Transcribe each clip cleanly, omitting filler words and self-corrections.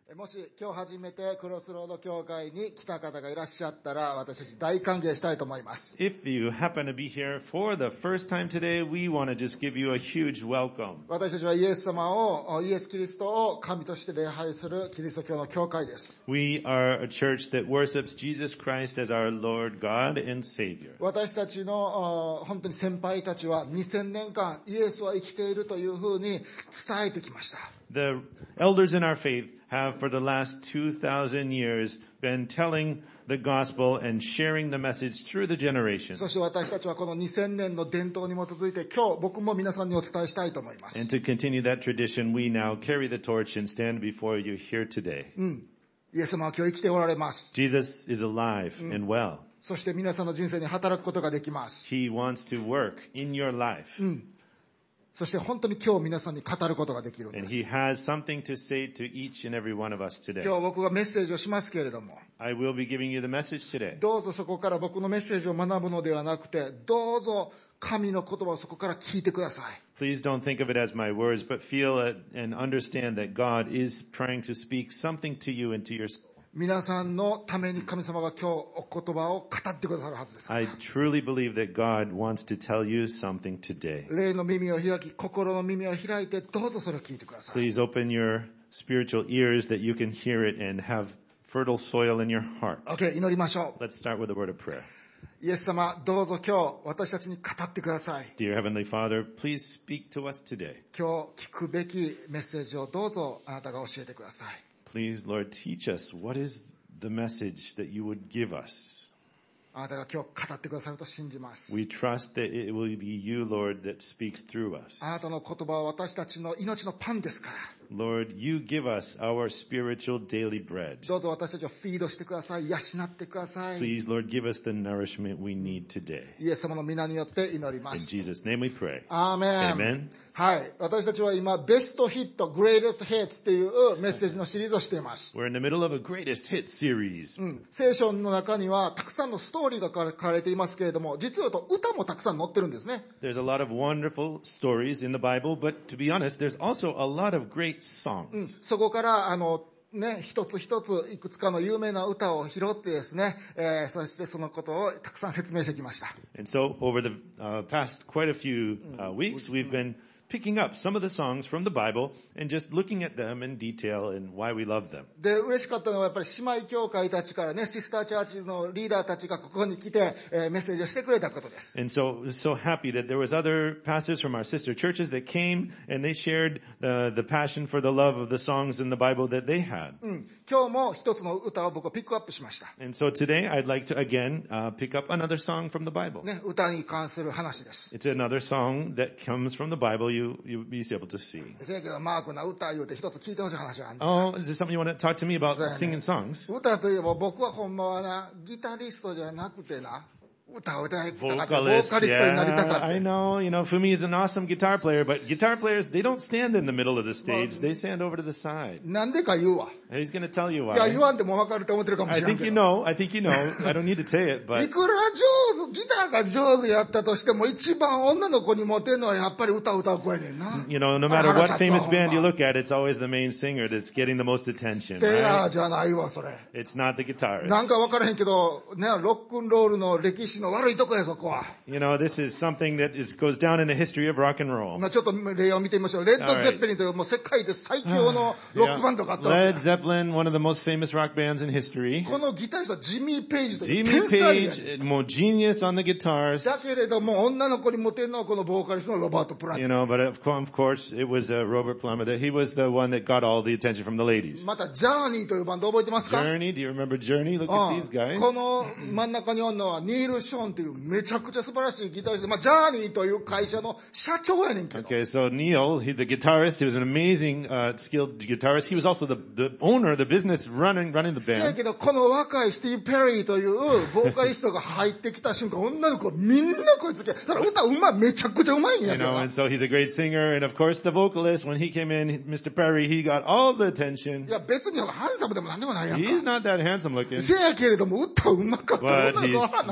もし今日初めてクロスロード教会に来た方がいらっしゃったら、私たち大歓迎したいと思います。 If you happen to be here for the first time today, we want to just give you a huge welcome. 私たちはイエス様を、イエス・キリストを神として礼拝するキリスト教の教会です。 We are a church that worships Jesus Christ as our Lord, God, and Savior. 私たちの本当に先輩たちは2000年間イエスは生きているというふうに伝えてきました。 The elders in our faith have for the last 2,000 years been telling the gospel and sharing the message through the generations. そして私たちはこの2000年の伝統に基づいて今日僕も皆さんにお伝えしたいと思います。 And to continue that tradition, we now carry the torch and stand before you here today. イエス様は今日生きておられます。 Jesus is alive and well. そして皆さんの人生に働くことができます。 He wants to work in your life. そして本当に今日皆さんに語ることができるんで And す。 he has something to say to each and every one of us today. 今日僕がメッセージをしますけれども、 I will be giving you the message today. どうぞそこから僕のメッセージを学ぶのではなくて、どうぞ神の言葉をそこから聞いてください。 Please don't think of it as my words, but feel it and understand that God is trying to speak something to you and to your soul. 皆さんのために神様が今日お言葉を語ってくださるはずです。 I truly believe that God wants to tell you something today. 霊の耳を開き、心の耳を開いて、どうぞそれを聞いてください。 Please open your spiritual ears that you can hear it and have fertile soil in your heart. OK、祈りましょう。 Let's start with a word of prayer. イエス様、どうぞ今日私たちに語ってください。 Dear Heavenly Father, please speak to us today. 今日聞くべきメッセージをどうぞあなたが教えてください。 Please, Lord, teach us what is the message that you would give us. あなたが今日語ってくださると信じます。 We trust that it will be you, Lord, that speaks through us. あなたの言葉は私たちの命のパンですから。 Lord, you give us our spiritual daily bread. どうぞ私たちをフィードしてください。養ってください。 Please, Lord, give us the nourishment we need today. イエス様の皆によって祈りま In す。 Jesus' name we pray. アーメン。 Amen. はい。私たちは今、ベストヒット、グレイテストヒットっていうメッセージのシリーズをしています。 We're in the middle of a greatest hit series. 聖書の中にはたくさんのストーリーが書かれていますけれども、実は言うと歌もたくさん載ってるんですね。 There's a lot of wonderful stories in the Bible, but to be honest, there's also a lot of great songs. そこから一つ一ついくつかの有名な歌を拾ってですね、そしてそのことをたくさん説明してきました。 And so over the past quite a few weeks, we've been picking up some of the songs from the Bible and just looking at them in detail and why we love them. で、嬉しかったのはやっぱり姉妹教会たちからね、シスターチャーチのリーダーたちがここに来て、メッセージをしてくれたことです。 And so happy that there was other pastors from our sister churches that came and they shared the passion for the love of the songs in the Bible that they had. 今日も一つの歌を僕はピックアップしました。 And so today I'd like to again pick up another song from the Bible. ね、歌に関する話です。 It's another song that comes from the Bible you'll be able to see. せやけどマークな歌言うて一つ聞いてほしい話があるんです。 Oh, is there something you want to talk to me about singing songs? 歌といえば僕はほんまはな、ギタリストじゃなくてな、歌を歌いたかった。ボー Vocalist, カリストになりたか yeah, った。 I know, Fumi is an awesome guitar player, but guitar players, they don't stand in the middle of the stage, they stand over to the side. なんでか言うわ。 He's going to tell you いや、言 why. わんでも分かると思ってるかもし I れない think け you ど。 know, I don't need to say it, い but くら上手、ギターが上手やったとしても、一番女の子にモテるのはやっぱり歌を歌う子やねんな。 no matter what famous band you look at, it's always the main singer that's getting the most attention, テナー right? じゃないわ、それ。 It's not the なん guitarist. か分からへんけど、ね、ロックンロールの歴史の悪いとこや、そこは。 This is something that goes down in the history of rock and roll. まあちょっと例を見てみましょう。レッド・ゼッペリンというもう世界で最強のロックバンドがあったわ Led け。 Zeppelin, one of the most famous rock bands in history. このギタリストはジミー・ペイジという Jimmy 天才やねん。 Page, more genius on the guitars. だけれども、女の子にモテるのはこのボーカリストのロバート・プラント。 But of course, it was Robert Plummer. He was the one that got all the attention from the ladies. また、ジャーニーというバンド覚えてますか？ Journey, do you remember Journey? Look at these guys. この真ん中におるのはニール・ショーンというめちゃくちゃ素晴らしいギタリスト。まあ、ジャーニーという会社の社長やねんけど。 Okay, so Neil, the guitarist, he was an amazing, skilled guitarist. He was also the owner, the business running the せや band. けど、この若いスティーブ・ペリーというボーカリストが入ってきた瞬間、女の子みんなこいつけ。だから歌うまい、めちゃくちゃうまいんやけど。 And so he's a great singer. And of course, the vocalist, when he came in, Mr. Perry, he got all the attention. いや、別にハンサムでもなんでもないやん He's か。 not that handsome looking. せやけれども、歌うまかった。 But 女の子はなる when ん he や。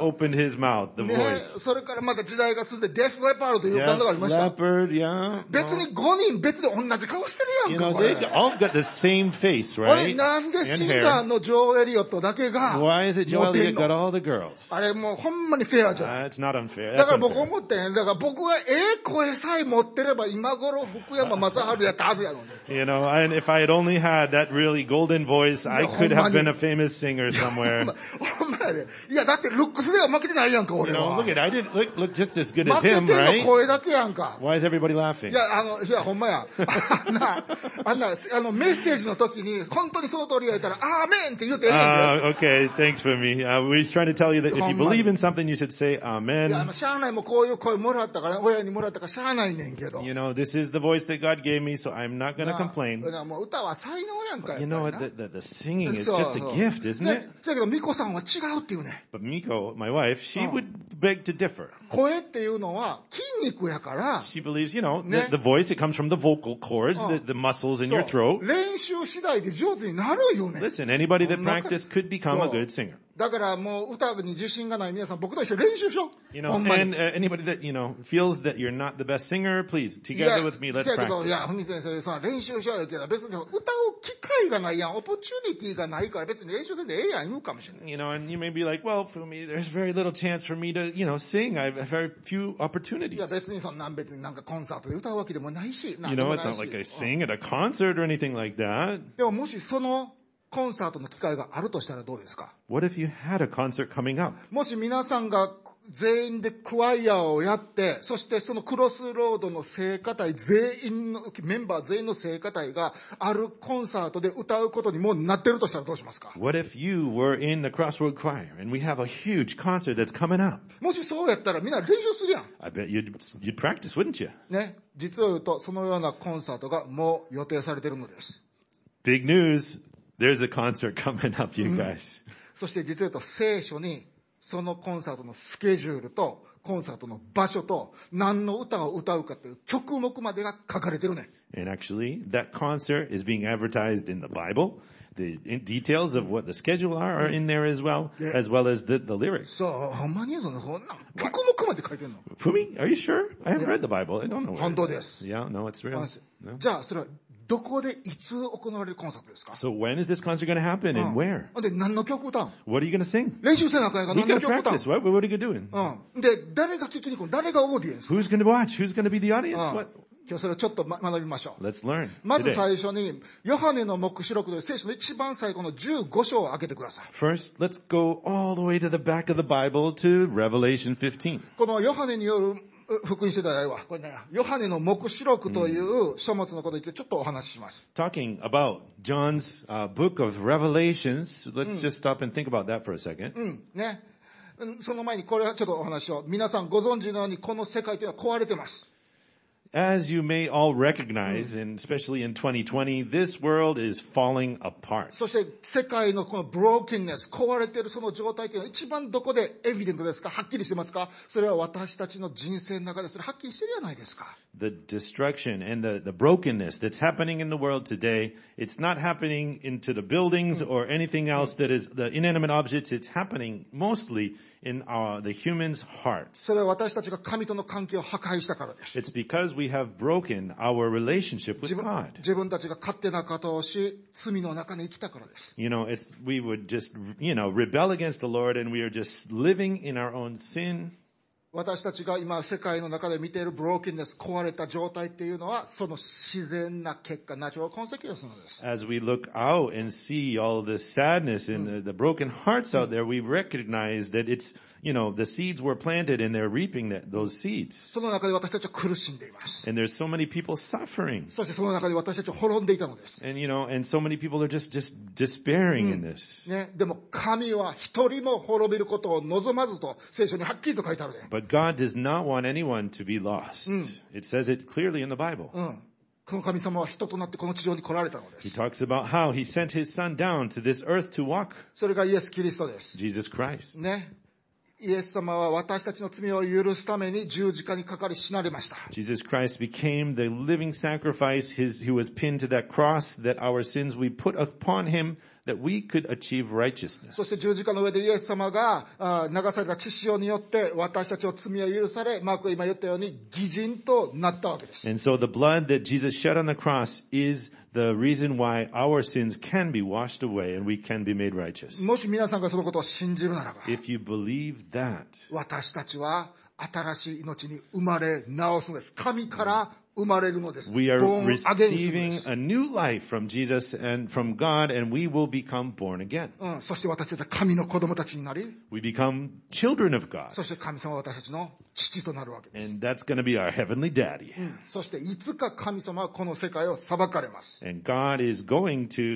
opened his mouth, the ね、 voice. それからまた時代が進んでデフレパードという Yeah, バンドがありました。 leopard, yeah. 別に5人別で同じ顔してるや You んか、 know, これ。 they all got the same face, あれ right? なんで And シンガー hair. のジョー・エリオットだけが Why is it モ Joel テ Elliott ん got の？ all the girls? あれもうほんまにフェアじゃない。 It's not unfair. だ That's から僕 unfair. 思ってん。だから僕が声さえ持ってれば今頃福山雅治やったはずやのに。 You know, and if I had only had that really golden voice, I could have been a famous singer somewhere. ほんまやで。いやだってルックスでは負けてないやんか、 You 俺 know, は。 look at, I didn't look just as good as 負け him, てんの right? 声だけやんか。 Why is everybody laughing? いや、ほんまや。メッセージの時に、本当にその通りやったら、アーメンって言うてええねんで。 Okay, thanks for me. We're trying to tell you that if you believe in something, you should say いや、 Amen. しゃあないもうこういう声もらったから、親にもらったからしゃあないねんけど。 You know, this is the voice that God gave me, so I'm not going to complain. もう歌は才能やんか。 You know what? The singing is just a gift, isn't it? だけど、ミコさんは違うっていうね。 But Miko, my wife, she would beg to differ. 声っていうのは筋肉やから、 She believes, you know, Ne? the voice, it comes from the vocal cords, the muscles in そう your throat. 練習次第で上手になるよね。 Listen, anybody that practiced could become a good singer. だからもう歌に自信がない皆さん、僕と一緒に練習しよう。 You know, ほんまに。 and anybody that, you know, feels that you're not the best singer, please, together with me, let's いやけど、 practice. いや、ふみ先生、その練習しようよけど、別に歌う機会がないやん、オポチュニティがないから別に練習せんでええやん言うかもしれない。 You know, and you may be like, well, for me, there's very little chance for me to, you know, sing. I have very few いや opportunities. 別にそんなん別になんかコンサートで歌うわけでもないし、なん You で know, も it's ない not し like I sing at a concert or anything like that. でももしそのコンサートの機会があるとしたらどうですか？ What if you had a concert coming up? もし皆さんが全員でクワイアをやって、そしてそのクロスロードの聖歌隊全員の、メンバー全員の聖歌隊があるコンサートで歌うことにもうなってるとしたらどうしますか？ What if you were in the Crossroad Choir and we have a huge concert that's coming up? もしそうやったらみんな練習するやん。 I bet you'd practice, wouldn't you? ね。実を言うと、そのようなコンサートがもう予定されているのです。 Big news. There's a concert coming up, you guys. そして実を言うと聖書にそのコンサートのスケジュールとコンサートの場所と何の歌を歌うかという曲目までが書かれてるね。 And actually, that concert is being advertised in the Bible. The details of what the schedule are in there as well as the lyrics. そう、ほんまにそんな曲目まで書いてるの。 Fumi, are you sure? I haven't read the Bible. I don't know. 本当です。 Yeah, no, it's real. No. じゃあそれはどこでいつ行われるコンサートですか？ So when is this concert going to happen and where? で何の曲歌うの？ What are you going to sing? 練習せなあかんやから We 何 got の to 曲歌う practice. What are you doing? の？で誰が聞きに来る？誰がオーディエンス？ Who's going to watch? Who's going to be the audience? What? 今日それをちょっと学びましょう。 Let's learn まず today. 最初にヨハネの黙示録という聖書の一番最後の15章を開けてください。 First, let's go all the way to the back of the Bible to Revelation 15. このヨハネによる福音書ではないわ。これね、ヨハネの黙示録という書物のことについてちょっとお話しします。 Talking about John's book of Revelations, let's just stop and think about that for a second. ね。その前にこれはちょっとお話を。皆さんご存知のようにこの世界というのは壊れてます。 As you may all recognize, and especially in 2020, this world is falling apart. そして世界のこのブローキンネス、壊れているその状態というのは一番どこでエビデントですか？はっきりしてますか？それは私たちの人生の中でそれはっきりしてるじゃないですか。 The destruction and the brokenness that's happening in the world today, it's not happening into the buildings or anything else that is the inanimate objects. It's happening mostly in the human's hearts. それは私たちが神との関係を破壊したからです。 It's because we have broken our relationship with God. 自分たちが勝手なことをし、罪の中に生きたからです。 You know, we would just, rebel against the Lord and we are just living in our own sin. 私たちが今世界の中で見ているブローキンネス、壊れた状態っていうのはその自然な結果、ナチュラルコンセキュエンスなのです。 As we look out and see all of this sadness and the broken hearts out there, we recognize that it's, the seeds were planted and they're reaping those seeds. その中で私たちは苦しんでいます。 And there's so many people suffering. そしてその中で私たちは滅んでいたのです。 And, and so many people are just despairing in this. ね、でも神は一人も滅びることを望まずと聖書にはっきりと書いてあるね。 But God does not want anyone to be lost. It says it clearly in the Bible. この神様は人となってこの地上に来られたので He す。 talks about how he sent his son down to this earth to walk. それがイエス・キリストです。 Jesus Christ. ね。 イエス様は私たちの罪を許すために十字架にかかり死なれました。 Jesus Christ became the living sacrifice. He was pinned to that cross that our sins we put upon him that we could achieve righteousness. そして十字架の上でイエス様が流された血潮によって私たちの罪は許され、マークが今言ったように義人となったわけです。 And so the blood that Jesus shed on the cross is the reason why our sins can be washed away and we can be made righteous. もし皆さんがそのことを信じるならば、 If you believe that, 私たちは新しい命に生まれ直すのです。神から生まれるのです。 we are Born again するので receiving す。 a new life from Jesus and from God, and we will become born again. そして私たちは神の子供たちになり、 We become children of God. そして神様は私たちの父となるわけです。 And that's going to be our heavenly daddy. そしていつか神様はこの世界を裁かれます。 And God is going to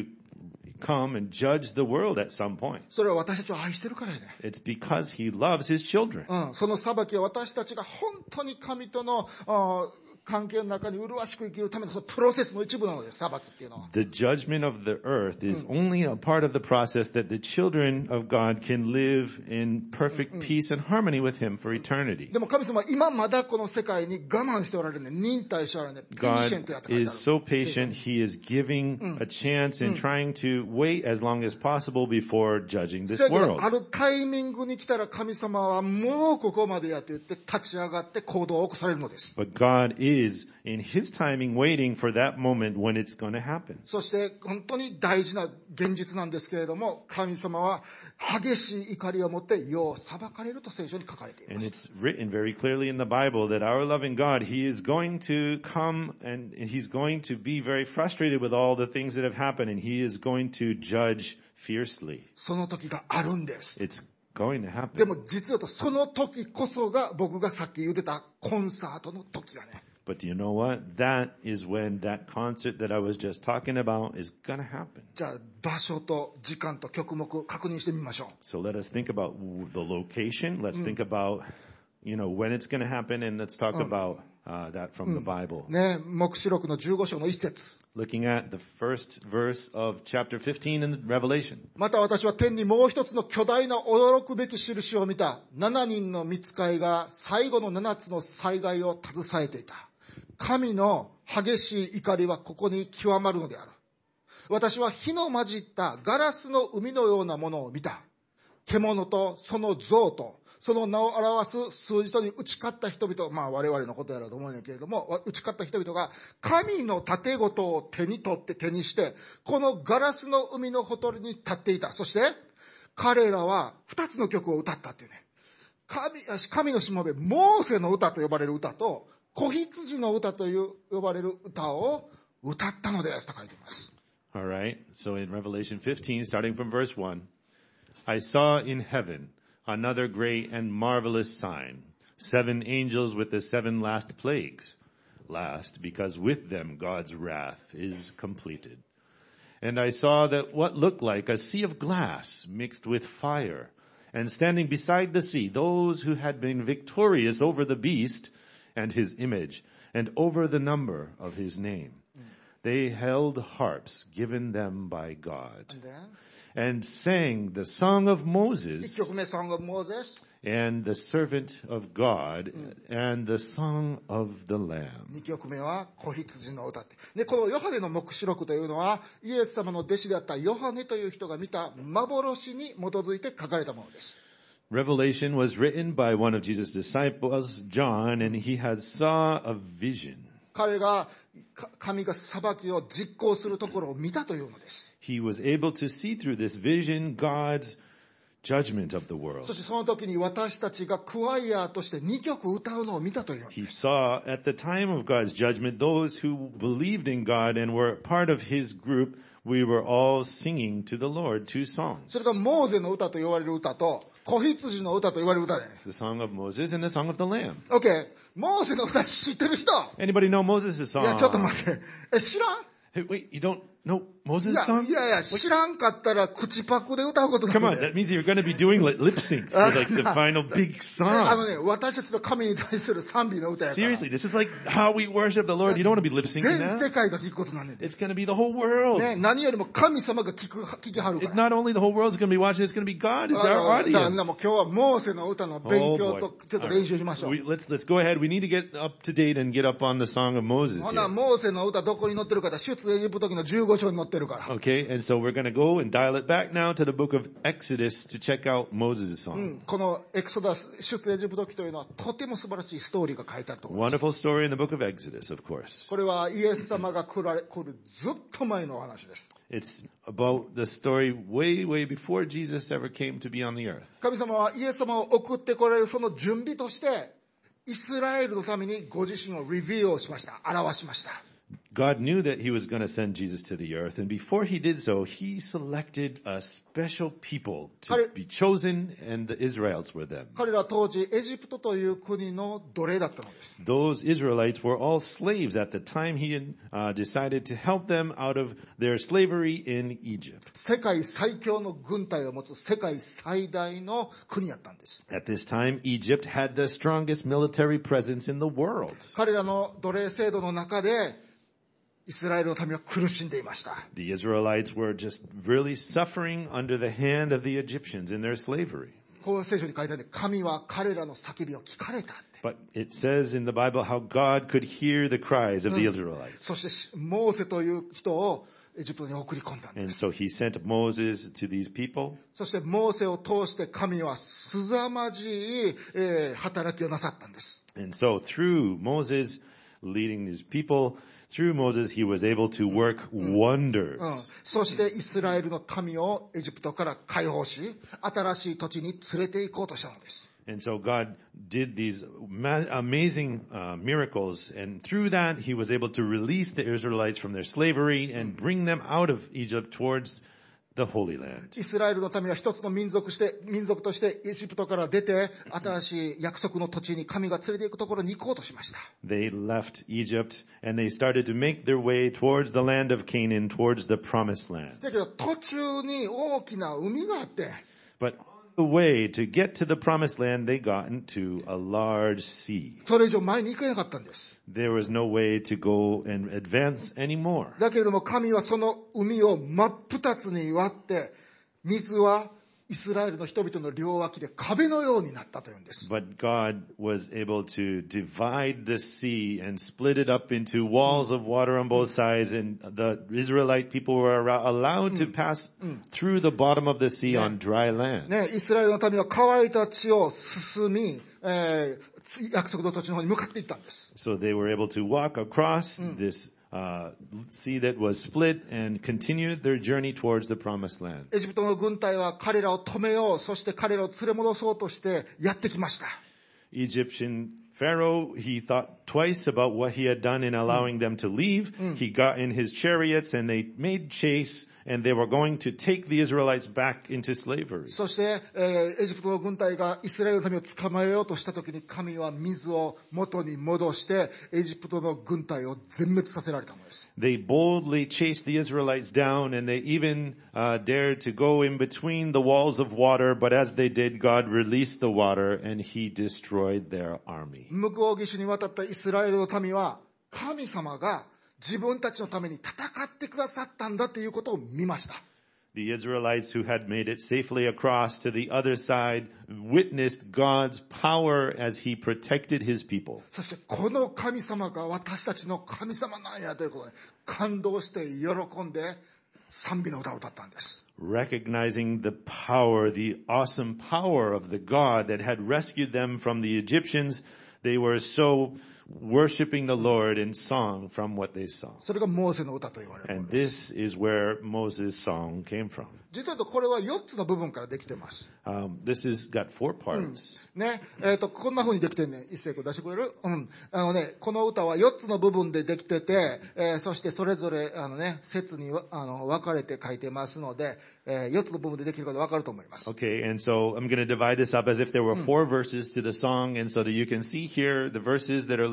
come and judge the world at some point. それは私たちを愛してるからやね。 It's because he loves his children. その裁きは私たちが本当に神との関係の中に麗しく生きるためのそのプロセスの一部なのです、裁きっていうのは。 The judgment of the earth is only a part of the process that the children of God can live in perfect peace and harmony with him for eternity. でも神様は今まだこの世界に我慢しておられるね。忍耐しておられるね。ペーシェントやって書い God てあ is る。 so patient. He is giving a chance and trying to wait as long as possible before judging this せやけど world. あるタイミングに来たら神様はもうここまでやって言って立ち上がって行動を起こされるのです。 But God is in his timing waiting for that moment when it's going to happen. そして本当に大事な現実なんですけれども、神様は激しい怒りを持って世を裁かれると聖書に書かれています。 And it's written very clearly in the Bible that our loving God, he is going to come and he's going to be very frustrated with all the things that have happened, and he is going to judge fiercely. その時があるんです。 It's going to で happen. も実はその時こそが僕がさっき言ってたコンサートの時がね。 But do you know what? That is when that concert that I was just talking about is going to happen. じゃあ場所と時間と曲目確認してみましょう。 So let us think about the location. Let's think about, when it's going to happen, and let's talk about that from the Bible. ね、黙示録の15章の一節。 Looking at the first verse of chapter 15 in Revelation. また私は天にもう一つの巨大な驚くべき印を見た。7人の御使いが最後の7つの災害を携えていた。神の激しい怒りはここに極まるのである。私は火の混じったガラスの海のようなものを見た。獣とその像とその名を表す数字とに打ち勝った人々、我々のことやろうと思うんだけれども、打ち勝った人々が神の盾ごとを手に取って手にして、このガラスの海のほとりに立っていた。そして彼らは2つの曲を歌ったっていうね。神のしもべ、モーセの歌と呼ばれる歌と、子羊の歌と呼ばれる歌を歌ったのですと書いています。 All right. So in Revelation 15, starting from verse 1, I saw in heaven another great and marvelous sign, 7 angels with the 7 last plagues. Last, because with them God's wrath is completed. And I saw that what looked like a sea of glass mixed with fire, and standing beside the sea, those who had been victorious over the beast and his image, and over the number of his name. They held harps given them by God, and sang the song of Moses, 1曲目、Song of Moses。 and the servant of God, and the song of the Lamb. 2曲目は子羊の歌って。で、このヨハネの黙示録というのは、イエス様の弟子であったヨハネという人が見た幻に基づいて書かれたものです。 Revelation was written by one of Jesus' disciples, John, and he had saw a vision. 彼が神が裁きを実行するところを見たというのです。 He was able to see through this vision God's judgment of the world. そしてその時に私たちがクワイアとして2曲歌うのを見たというの He です。 saw at the time of God's judgment those who believed in God and were part of his group. We were all singing to the Lord 2 songs. それがモーゼの歌と言われる歌と子羊の歌と言われる歌ね。 The song of Moses and the song of the Lamb. OK。モーゼの歌知ってる人？ Anybody know Moses' いや、ちょっと song? 待って。知らん？ Hey, wait, you don't know Moses' いや song? いやいや、知らんかったら口パクで歌うことにな Come る on, で that means you're going to be doing like lip sync for like the final big あの song. ね、私たちの神に対する賛美の歌やから。 Seriously, this is like how we worship the Lord. You don't want to be lip syncing 全 that. 世界が聞くことなんねんで。 It's going to be the whole world. ね、何よりも神様が聞きはるか It's ら。 not only the whole world's going to be watching, it's going to be God. It's だ our からもう audience. 今日はモーセの歌の勉 Oh 強 boy. とちょっと All 練習しましょう。 right. Let's go ahead. We need to get up to date and get up on the song of Moses ほな、 here. モーセの歌どこに載ってるかって、出エジプト記の15章に載ってるから。 Okay, and so we're going to go and dial it back now to the book of Exodus to check out Moses' う song. ん、このエクソダス、出エジプト記というのはとても素晴らしいストーリーが書いてあると思います。 Wonderful story in the book of Exodus, of course. これはイエス様が来るずっと前のお話です。 It's about the story way, way before Jesus ever came to be on the earth. 神様はイエス様を送ってこられるその準備として、イスラエルのためにご自身をリビューをしました。表しました。 God knew that he was going to send Jesus to the earth, and before he did so, he selected a special people to be chosen, and the Israelites were them. 彼らは当時エジプトという国の奴隷だったのです。 Those Israelites were all slaves at the time he decided to help them out of their slavery in Egypt. 世界最強の軍隊を持つ世界最大の国やったんです。 At this time, Egypt had the strongest military presence in the world. 彼らの奴隷制度の中でイスラエルの民は苦しんでいました。 The Israelites were just really suffering under the hand of the Egyptians in their slavery. こう聖書に書いてあるんで、神は彼らの叫びを聞かれたって。 But it says in the Bible how God could hear the cries of the Israelites. そしてモーセという人をエジプトに送り込んだんで And す。 so he sent Moses to these people. そしてモーセを通して神は凄まじい、働きをなさったんです。 And so through Moses leading these people, through Moses he was able to work wonders. そしてイスラエルの民をエジプトから解放し、新しい土地に連れて行こうとしたのです。 And so God did these amazing miracles, and through that he was able to release the Israelites from their slavery and bring them out of Egypt towards the Holy Land. イスラエルの民は一つの民族としてエジプトから出て、新しい約束の土地に神が連れて行くところに行こうとしました。 They left Egypt and they started to make their way towards the land of Canaan, towards the promised land. だけど途中に大きな海があって、 But on the way to get to the promised land, they got into a large sea. それ以上前に行けなかったんです。 There was no way to go and advance anymore. だけれども神はその海を真っ二つに割って、水はイスラエルの人々の両脇で壁のようになったというんです。 But God was able to divide the sea and split it up into walls of water on both sides, and the Israelite people were allowed to pass through the bottom of the sea on dry land. ね、イスラエルの民は乾いた地を進み、約束の土地の方に向かっていったんです。 So they were able to walk across this sea that was split and continued their journey towards the promised land. エジプトの軍隊は彼らを止めよう、そして彼らを連れ戻そうとしてやってきました。 Egyptian Pharaoh, he thought twice about what he had done in allowing them to leave. He got in his chariots and they made chase, and they were going to take the Israelites back into slavery. そして、エジプトの軍隊がイスラエルの民を捕まえようとしたときに、神は水を元に戻して、エジプトの軍隊を全滅させられたのです。 They boldly chased the Israelites down, and they even dared to go in between the walls of water, but as they did, God released the water and he destroyed their army. 向こう岸に渡ったイスラエルの民は、神様が自分たちのために戦ってくださったんだということを見ました。 The Israelites who had made it safely across to the other side witnessed God's power as he protected his people. そしてこの神様が私たちの神様なんやということで感動して喜んで賛美の歌を歌ったんです。 Recognizing the power, the awesome power of the God that had rescued them from the Egyptians, they were so worshiping the Lord in song from what they saw. それがモーセの歌と言われるも And のです。 this is where Moses' song came from. 実はこれは4つの部分からできてます。 This has got 4 parts. ね、こんな風にできてんね。一斉こ出してくれる？この歌は4つの部分でできてて、そしてそれぞれ節に分かれて書いてますので、4つの部分でできること分かると思います。 Okay, and so I'm going to divide this up as if there were 4 verses to the song, and so that you can see here the verses that are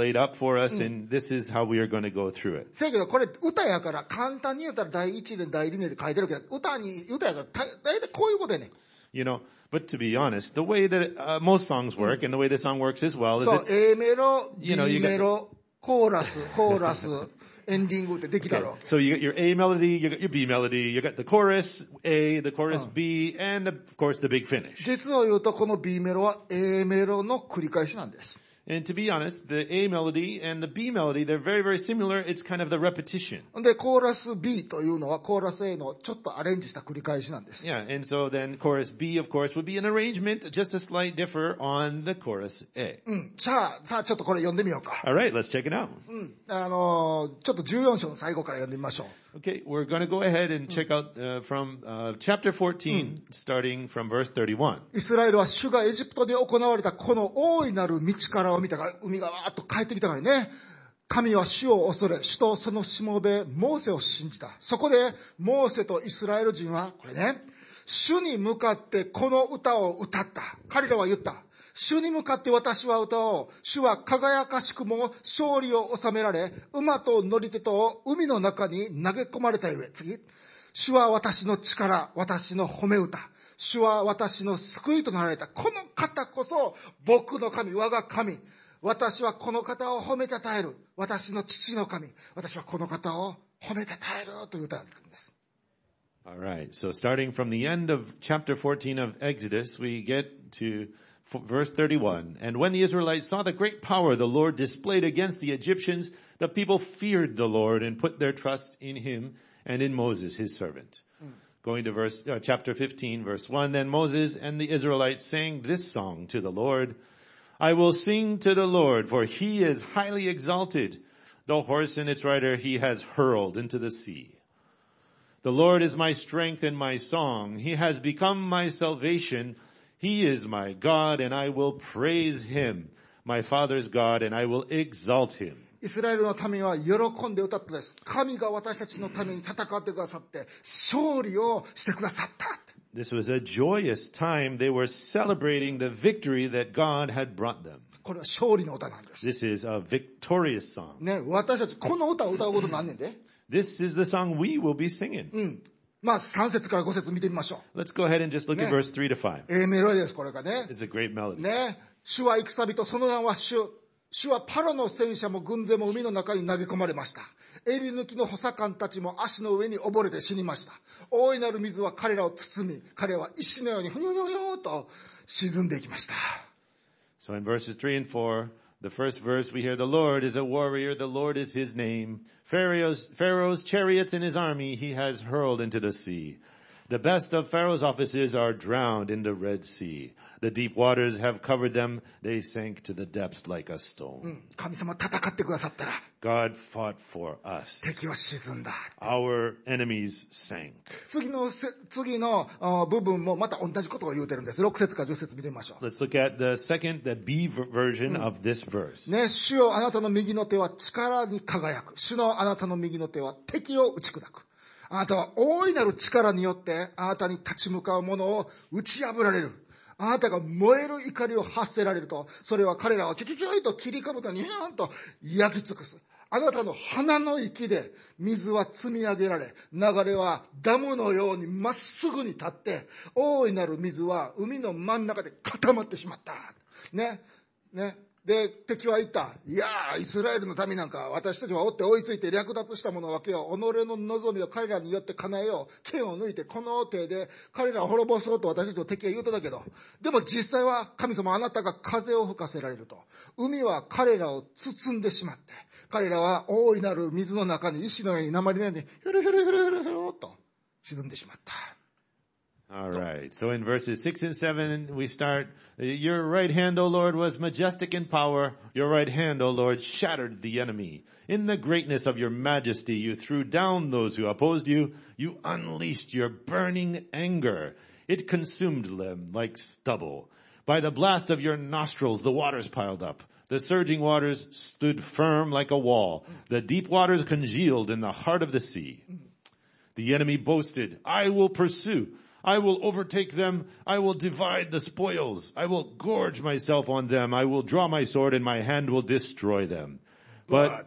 laid up for us, and this is how we are going to go through it. せやけどこれ歌やから簡単に言うたら第一年第二年で書いてるけど、歌やからだいたいこういうことやねん。 You know, but to be honest, the way that most songs work, and the way this song works as well, is そう、 that A メロ、B You know, you メロ、コーラス、エンディングってできた okay, ろ。 so you got your A melody, you got your B melody, you got the chorus A, the chorus B, and of course the big finish. 実を言うとこの B メロは A メロの繰り返しなんです。 And to be honest, the A melody and the B melody, they're very, very similar. It's kind of the repetition. で、コーラス B というのはコーラス A のちょっとアレンジした繰り返しなんです。 Yeah, and so then chorus B, of course, would be an arrangement, just a slight differ on the chorus A. さあちょっとこれ読んでみようか。 All right, let's check it out. ちょっと14章の最後から読んでみましょう。 Okay, we're going to go ahead and check out from chapter 14, starting from verse 31. イスラエルは主がエジプトで行われたこの大いなる道からを見たから、海がわーっと帰ってきたからね。神は主を恐れ、主とそのしもべ、モーセを信じた。そこで、モーセとイスラエル人は、これね、主に向かってこの歌を歌った。彼らは言った。主に向かって私は歌おう。主は輝かしくも勝利を収められ、馬と乗り手と海の中に投げ込まれたゆえ。次。主は私の力、私の褒め歌。主は私の救いとなられた。この方こそ僕の神、我が神。私はこの方を褒めたたえる。私の父の神。私はこの方を褒めたたえるという歌が出てくるんです。 All right, so starting from the end of chapter 14 of Exodus, we get to verse 31. And when the Israelites saw the great power the Lord displayed against the Egyptians, the people feared the Lord and put their trust in him and in Moses, his servant. Going to chapter 15, verse 1. Then Moses and the Israelites sang this song to the Lord. I will sing to the Lord, for he is highly exalted. The horse and its rider he has hurled into the sea. The Lord is my strength and my song. He has become my salvation. He is my God, and I will praise him. My father's God, and I will exalt him. イスラエルの民は喜んで歌ったです。神が私たちのために戦ってくださって、勝利をしてくださった。 This was a joyous time. They were celebrating the victory that God had brought them. これは勝利の歌なんです。 This is a victorious song. ね、私たちこの歌を歌うことなんねんで。 This is the song we will be singing. まあ3節から5節見てみましょう。 Let's go ahead and just look at verse 3 to 5. A メロディです、これがね。 It's a great melody. ね、主は戦人、その名は主。主はパロの戦車も軍勢も海の中に投げ込まれました。襟抜きの補佐官たちも足の上に溺れて死にました。大いなる水は彼らを包み、彼は石のようにふにょふにょふにょと沈んでいきました。 So in verses 3 and 4, the first verse we hear, the Lord is a warrior, the Lord is his name. Pharaoh's chariots and his army he has hurled into the sea. The best of Pharaoh's officers are drowned in the Red Sea. The deep waters have covered them. They sank to the depths like a stone. 神様戦ってくださったら God fought for us. 敵は沈んだ。 Our enemies sank. 次の部分もまた同じことを言うてるんです。6節から10節見てみましょう。 Let's look at the B version of this verse. ね、主よあなたの右の手は力に輝く。主のあなたの右の手は敵を打ち砕く。あなたは大いなる力によってあなたに立ち向かう者を打ち破られる。あなたが燃える怒りを発せられると、それは彼らをちょちょちょいと切りかぶとにゃーんと焼き尽くす。あなたの鼻の息で水は積み上げられ、流れはダムのようにまっすぐに立って、大いなる水は海の真ん中で固まってしまった。ね。で、敵は言った。いやー、イスラエルの民なんか私たちは追って追いついて略奪したものを分けよう。己の望みを彼らによって叶えよう。剣を抜いてこの手で彼らを滅ぼそうと私たちの敵は言うとだけど。でも実際は神様あなたが風を吹かせられると。海は彼らを包んでしまって。彼らは大いなる水の中に石のように鉛のようにふるふるふるふるふると沈んでしまった。 All right. So in verses 6 and 7, we start, your right hand, O Lord, was majestic in power. Your right hand, O Lord, shattered the enemy. In the greatness of your majesty, you threw down those who opposed you. You unleashed your burning anger. It consumed them like stubble. By the blast of your nostrils, the waters piled up. The surging waters stood firm like a wall. The deep waters congealed in the heart of the sea. The enemy boasted, I will pursue. I will overtake them. I will divide the spoils. I will gorge myself on them. I will draw my sword and my hand will destroy them. But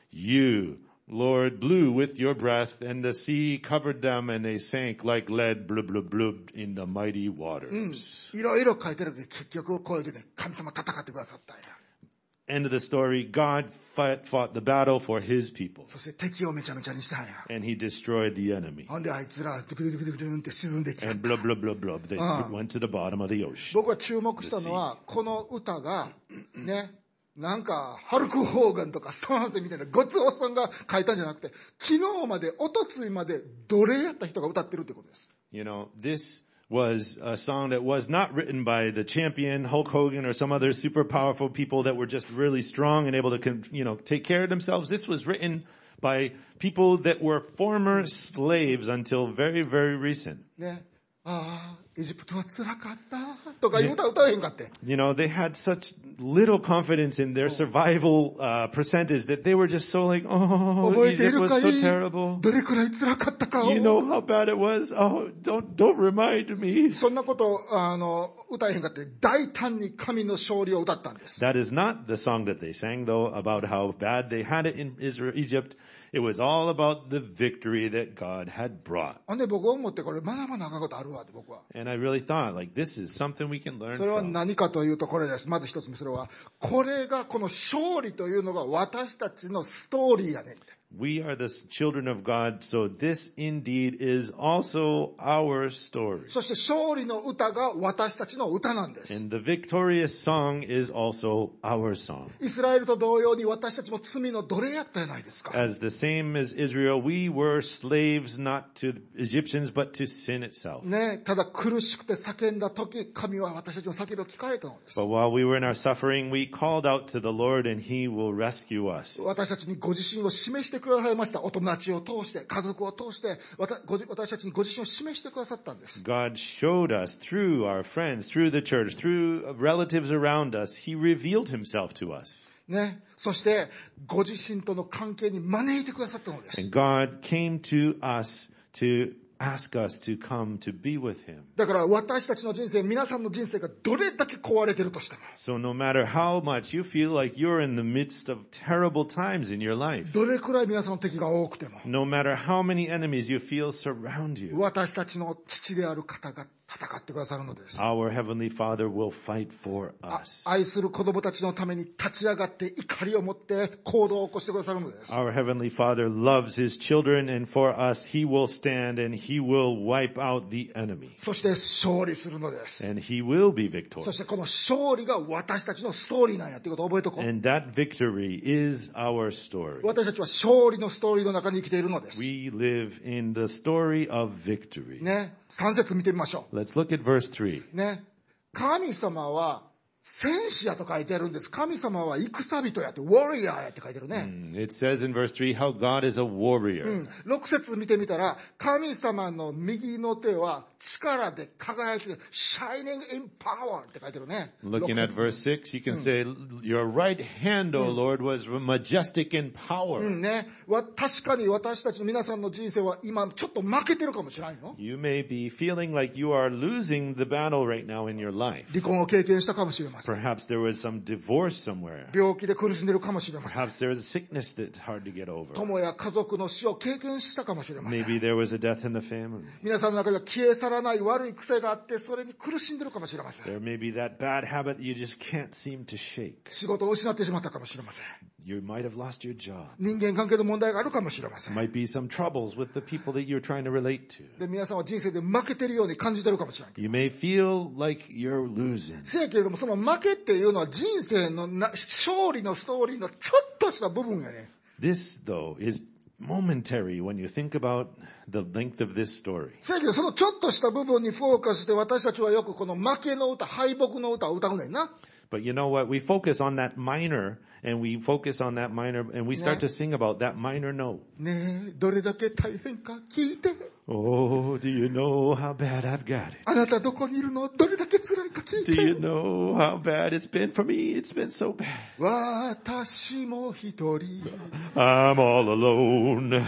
you, Lord, blew with your breath and the sea covered them and they sank like lead, blub, blub, blub, in the mighty waters. いろいろ書いてるけど、結局こういうでね、神様戦ってくださったんや。 End of the story, God fought the battle for his people. そして敵をめちゃめちゃにしたんや。 And he destroyed the enemy. ほんであいつら、ドゥクドゥクドゥクドゥンって沈んでいきた。 And blub, blub, blub, blub, they went to the bottom of the ocean. 僕は注目したのは、この歌が、ね、なんか、ハルク・ホーガンとかストーンズみたいなごつおっさんが書いたんじゃなくて、昨日まで、おとついまで、奴隷やった人が歌ってるってことです。 You know, this was a song that was not written by the champion, Hulk Hogan, or some other super powerful people that were just really strong and able to, take care of themselves. This was written by people that were former slaves until very, very recent. ね。ああ、エジプトは辛かったとかいう歌歌えへんかって。 You know, they had such little confidence in their survival percentage that they were just so like, oh, 覚えてい Egypt る was か so い terrible. どれくらい辛かったかを。 You know how bad it was? Oh, don't remind me. そんなこと歌えへんかって大胆に神の勝利を歌ったんです。 That is not the song that they sang though about how bad they had it in Egypt. It was all about the victory that God had brought. ほんで僕思ってこれ学ばなあかんことあるわって僕は。 And I really thought, like, this is something we can learn それは from. 何かというとこれです。まず一つ目、それはこれがこの勝利というのが私たちのストーリーやねんって。 We are the children of God, so this indeed is also our story. そして勝利の歌が私たちの歌なんです。 And the victorious song is also our song. イスラエルと同様に私たちも罪の奴隷やったじゃないですか。 As the same as Israel, we were slaves not to Egyptians, but to sin itself. ね、ただ苦しくて叫んだ時、神は私たちの叫びを聞かれたのです。 But while we were in our suffering, we called out to the Lord and He will rescue us. 私たちにご自身を示してくださいました。お友達を通して、家族を通して、私たちにご自身を示してくださったんです。 God showed us through our friends, through the church, through relatives around us. He revealed Himself to us. ね、そしてご自身との関係に招いてくださったのです。 And God came to us to ask us to come to be with Him. だから私たちの人生、皆さんの人生がどれだけ壊れてるとしても、 So no matter how much you feel like you're in the midst of terrible times in your life, どれくらい皆さんの敵が多くても、 no matter how many enemies you feel surround you, 私たちの父である方が戦ってくださるのです。 our Heavenly Father will fight for us. 愛する子供たちのために立ち上がって怒りを持って行動を起こしてくださるのです。 Our Heavenly Father loves His children, and for us He will stand and He will wipe out the enemy. そして勝利するのです。 And He will be そして victorious. この勝利が私たちのストーリーなんやっていうことを覚えとこう。 And that victory is our story. 私たちは勝利のストーリーの中に生きているのです。 We live in the story of victory. ね、3節見てみましょ Let's look at verse 3. う。ね、神様は戦士やと書いてあるんです。神様は戦人やって、ウォリアーやって書いてるね。 It says in verse 3 how God is a warrior. 6節見てみたら、神様の右の手は力で輝いてる、shining in power って書いてるね。 Looking at verse 6, you can say, your right hand, O Lord, was majestic in power. ね、確かに私たちの皆さんの人生は今ちょっと負けてるかもしれないの。 You may be feeling like you are losing the battle right now in your life. 離婚を経験したかもしれません。 Perhaps there was some divorce somewhere. 病気で苦しんでるかもしれません。 Perhaps there was a sickness that's hard to get over. 友や家族の死を経験したかもしれません。 Maybe there was a death in the family. 皆さんの中では消え去らない悪い癖があって、それに苦しんでるかもしれません。 There may be that bad habit you just can't seem to shake. 仕事を失ってしまったかもしれません。 You might have lost your job. 人間関係の問題があるかもしれません。 Might be some troubles with the people that you're trying to relate to. で、皆さんは人生で負けてるように感じてるかもしれない。 You may feel like you're losing. せやけれども、その負けっていうのは人生の勝利のストーリーのちょっとした部分やね。 This, though, is momentary when you think about the length of this story. せやけど、そのちょっとした部分にフォーカスして私たちはよくこの負けの歌、敗北の歌を歌うねんな。 But you know what? We focus on that minor, and we focus on that minor, and we start to sing about that minor note. ねえ、どれだけ大変か聞いて。 Oh, do you know how bad I've got it? あなたどこにいるの？どれだけ辛いか聞い Do you て。 know how bad it's been for me? It's been so bad. 私も一人。 I'm all alone.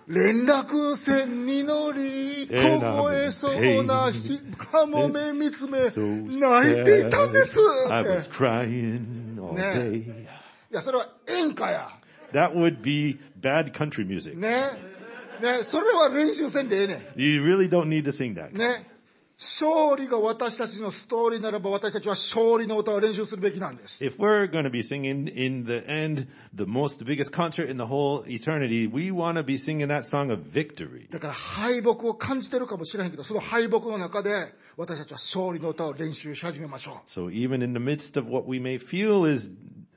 連絡船に乗り、凍えそうなカモメ見つめ、泣いていたんです。 I was crying all ね day. いや、それは演歌や。 That would be bad country music. ね。ね、それは練習せんでええね You really don't need to sing that. ん。ね。勝利が私たちのストーリーならば私たちは勝利の歌を練習するべきなんです。 If we're going to be singing in the end, the biggest concert in the whole eternity, we want to be singing that song of victory. だから敗北を感じてるかもしれへんけど、その敗北の中で私たちは勝利の歌を練習し始めましょう。 So even in the midst of what we may feel is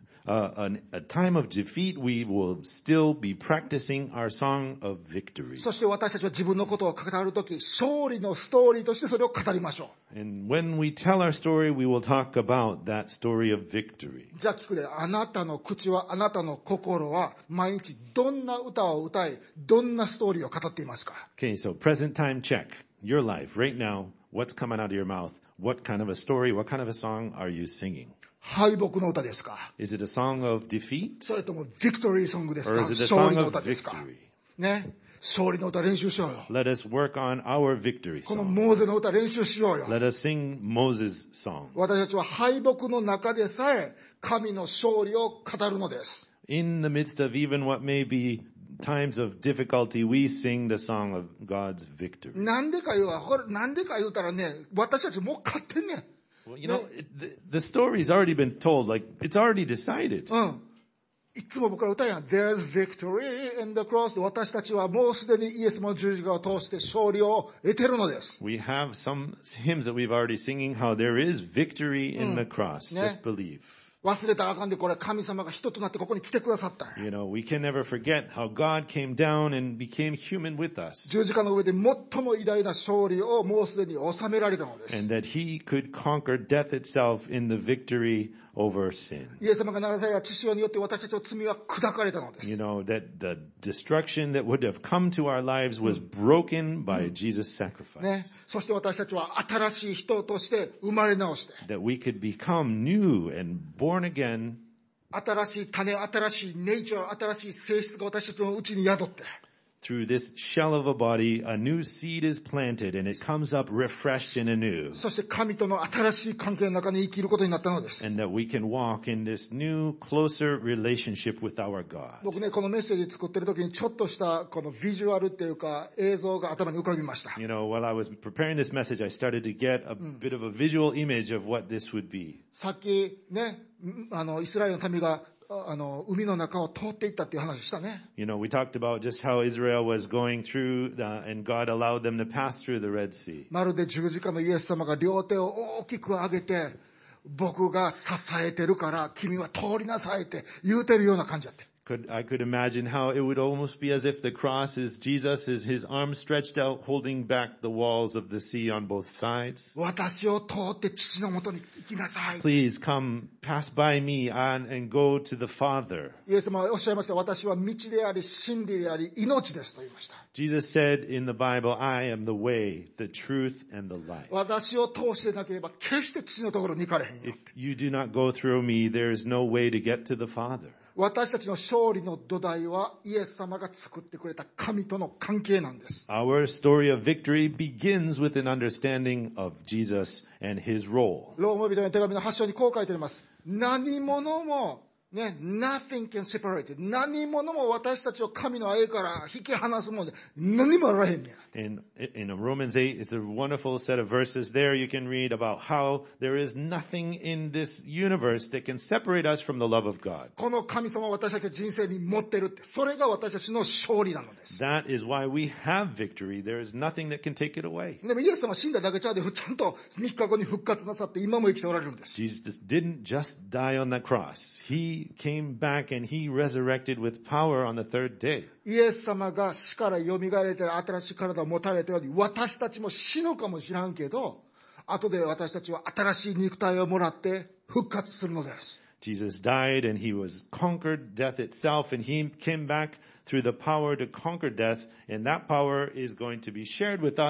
a time of defeat, we will still be practicing our song of victory. そして私たちは自分のことを語るとき、勝利のストーリーとしてそれを語りましょ And when we tell our story, we will talk about that story of victory. う。じゃあ聞くで、あなたの口は、あなたの心は毎日どんな歌を歌い、どんなストーリーを語っていますか？ Okay, so present time check. Your life right now, what's coming out of your mouth? What kind of a story, what kind of a song are you singing? 敗北の歌ですか？ Is it a song of defeat? それともビクトリーソングですか？ Or is it a 勝 song 利の of 歌ですか？ victory? ね。勝利の歌練習しようよ。 Let us work on our victory この song. モーゼの歌練習しようよ。 Let us sing Moses' song. 私たちは敗北の中でさえ神の勝利を語るのです。 In the midst of even what may be times of difficulty, we sing the song of God's victory. なんでか言うたらね、私たちもう勝ってんねん。 Well, you know, the story's already been told. Like, it's already decided. うん。いつも僕ら歌うやん。There's victory in the cross. 私たちはもうすでにイエスの十字架を通して勝利を得てるのです。 We have some hymns that we've already singing how there is victory in the cross. Yeah. Just believe. 忘れたらあかんで、これ神様が人となってここに来てくださったんや。 You know, we can never forget how God came down and became human with us. 十字架の上で最も偉大な勝利をもうすでに収められたのです。 And that he could conquer death itself in the victory over sin. イエス様が流された血潮によって私たちの罪は砕かれたのです。 You know, that the destruction that would have come to our lives was broken by Jesus' sacrifice. ね。そして私たちは新しい人として生まれ直して、 That we could become new and born again. 新しい種、新しいネイチャー、新しい性質が私たちのうちに宿って、 Through this shell of a body, a new seed is planted and it comes up refreshed and anew. そして神との新しい関係の中に生きることになったのです。 And that we can walk in this new, closer relationship with our God. 僕ね、このメッセージ作ってる時にちょっとしたこのビジュアルっていうか映像が頭に浮かびました。 You know, while I was preparing this message, I started to get a bit of a visual image of what this would be. さっきね、イスラエルの民が海の中を通っていったっていう話したね。 You know, we talked about just how Israel was going through and God allowed them to pass through the Red Sea. まるで十字架のイエス様が両手を大きく上げて、僕が支えてるから君は通りなさいって言うてるような感じだって。 I could imagine how it would almost be as if the cross is Jesus, is his arms stretched out, holding back the walls of the sea on both sides. 私を通って父のもとに行きなさい。 Please come, pass by me and go to the Father. イエス様はおっしゃいました。私は道であり、真理であり、命ですと言いました。 Jesus said in the Bible, I am the way, the truth, and the life. 私を通してなければ決して父のところに行かれへんよ。 If you do not go through me, there is no way to get to the Father. 私たちの勝利の土台はイエス様が作ってくれた神との関係なんです。 Our story of victory begins with an understanding of Jesus and his role. ローマ人の手紙の8章にこう書いてあります。何者もね、nothing can separate it. 何者も私たちを神の愛から引き離すもんで何もあらへんねん。 In Romans 8, it's a wonderful set of verses there. You can read about how there is nothing in this universe that can separate us from the love of God. この神様を私たちの人生に持ってるって、それが私たちの勝利なのです。 That is why we have victory. There is nothing that can take it away. でもイエス様は死んだだけちゃうで、ちゃんと3日後に復活なさって今も生きておられるんです。 Jesus didn't just die on the cross. He came back and he resurrected with power on the third day. イエス様が死から蘇れて新しい体を持たれたように、私たちも死ぬかもしらんけど、後で私たちは新しい肉体をもらって復活するのです。 Jesus died and he was conquered death itself and he came back through the power to conquer death, and that power is going to be shared with us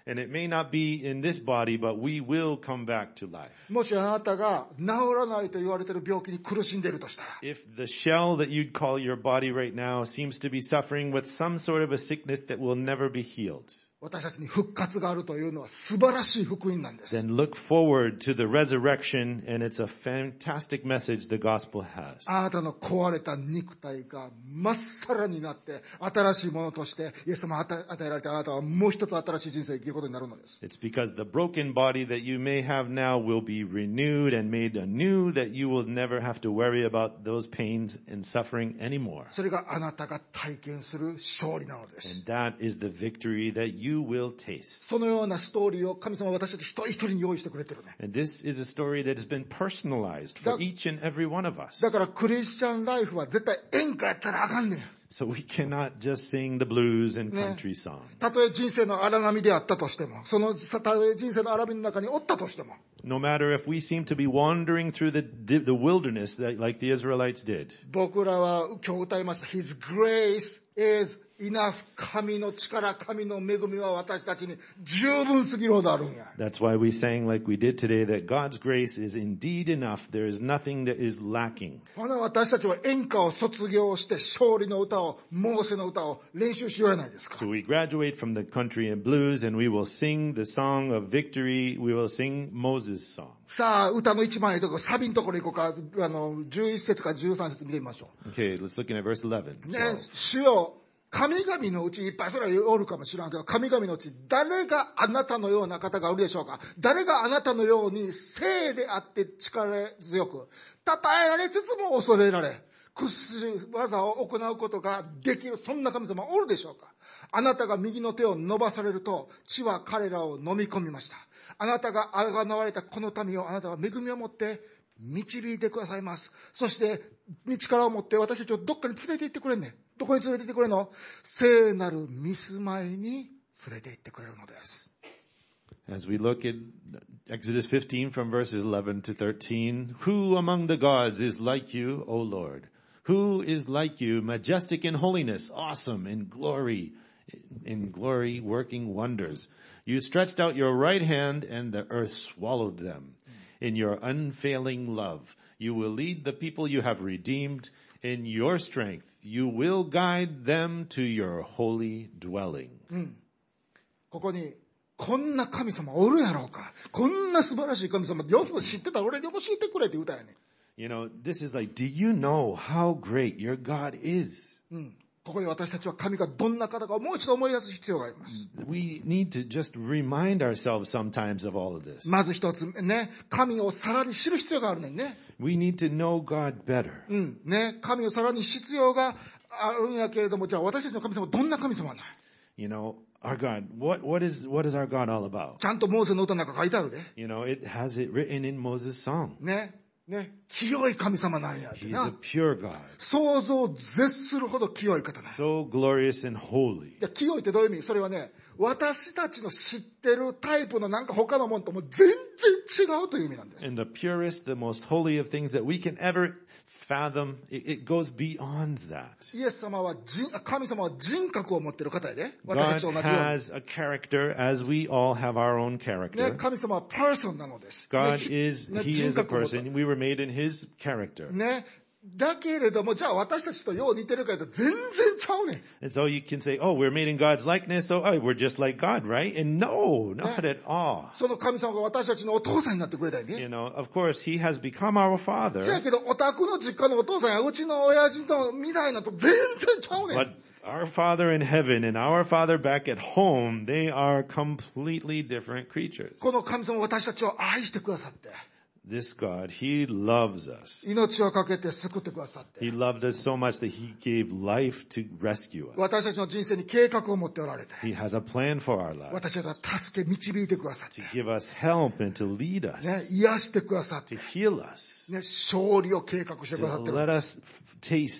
And it may not be in this body, but we will come back to life. もしあなたが治らないと言われている病気に苦しんでいるとしたら、 If the shell that you'd call your body right now seems to be suffering with some sort of a sickness that will never be healed, 私たちに復活があるというのは素晴らしい福音なんです。 then look forward to the resurrection, and it's a fantastic message the gospel has. あなたの壊れた肉体がまっさらになって新しいものとしてイエス様が与えられてあなたはもう一つ新しい人生を生きることになるのです。 It's because the broken body that you may have now will be renewed and made anew, that you will never have to worry about those pains and suffering anymore. それがあなたが体験する勝利なのです。 And that is the victory that you will taste. そのようなストーリーを神様は私たち一人一人に用意してくれてるね。 And this is a story that has been personalized for each and every one of us. だからクリスチャンライフは絶対演歌やったらあかんねん。 So we cannot just sing the blues and country songs. たとえ人生の荒波であったとしても、そのたとえ人生の荒波の中におったとしても、 No matter if we seem to be wandering through the wilderness like the Israelites did. 僕らは今日歌いました。His grace is enough. 神の力、神の恵みは私たちに十分すぎるほどあるんや。 That's why we sang like we did today, that God's grace is indeed enough. There is nothing that is lacking. ほな私たちは演歌を卒業して勝利の歌を、モーセの歌を練習しようやないですか。 So we graduate from the country and blues, and we will sing the song of victory. We will sing Moses' song. さあ、歌の一番いいところ、サビのところ行こうか。11節から13節見てみましょ Okay, let's look at verse 11. う。ね、主よ、神々のうちいっぱいそれはおるかもしれんけど、神々のうち誰があなたのような方がおるでしょうか。誰があなたのように聖であって力強く、称えられつつも恐れられ、屈指技を行うことができる、そんな神様おるでしょうか。あなたが右の手を伸ばされると、地は彼らを飲み込みました。あなたが贖われたこの民をあなたは恵みを持って導いてくださいます。そして道からを持って私たちをどっかに連れて行ってくれんねん。どこに連れて行ってくれんの？聖なる御住まいに連れて行ってくれるのです。 As we look at Exodus 15 from verses 11 to 13, who among the gods is like you, O Lord? Who is like you, majestic in holiness, awesome in glory, working wonders? You stretched out your right hand and the earth swallowed them. In your unfailing love, you will lead the people you have redeemed. In your strength, you will guide them to your holy dwelling. ここにこんな神様おるやろうか。こんな素晴らしい神様、よく知ってたら俺に教えてくれって歌やね。 You know, this is like, do you know how great your God is? ここで私たちは神がどんな方かをもう一度思い出す必要があります。 We need to just remind ourselves sometimes of all of this. まず一つね、神をさらに知る必要があるねんね。 We need to know God better. ね、神をさらに知る必要があるんやけれども、じゃあ私たちの神様はどんな神様なの？ You know, our God, what is our God all about? ちゃんとモーセの歌の中書いてあるで。 You know, it has it written in Moses' song. ね、清い神様なんやって He's な。 a pure God. 想像を絶するほど清い方なんや。 So glorious and holy. で清いってどういう意味？それはね、私たちの知ってるタイプのなんか他のものとも全然違うという意味なんです。 And the purest, the most holy of things that we can ever fathom, it goes beyond that. イエス様は神様は人格を持っている方やで。 God 私たちと同じように。 has a character as we all have our own ね、 character. 神様はパーソンなのです。 God ね is, ね He 人 is a 格を持った person. We were made in His character. ね。だけれども、じゃあ私たちとよう似てるかというと全然ちゃうねん。 And so you can say, oh, we're made in God's likeness, so we're just like God, right? And no, not at all. その神様が私たちのお父さんになってくれたよね。 You know, of course, He has become our せや Father, けど、お宅の実家のお父さんやうちの親父の未来なと全然ちゃうねん。 but our Father in heaven and our Father back at home, they are completely different creatures. この神様は私たちを愛してくださって、 This God, He loves us. 命をかけて救ってくださって、 He loved us so much that He gave life to rescue us. 私たちの人生に計画を持っておられて、 He has a plan for our lives, 私たちを助け導いてくださって、 to give us help and to lead us, ね、癒してくださって、 to heal us, ね、勝利を計画してく to ださってる。 let us taste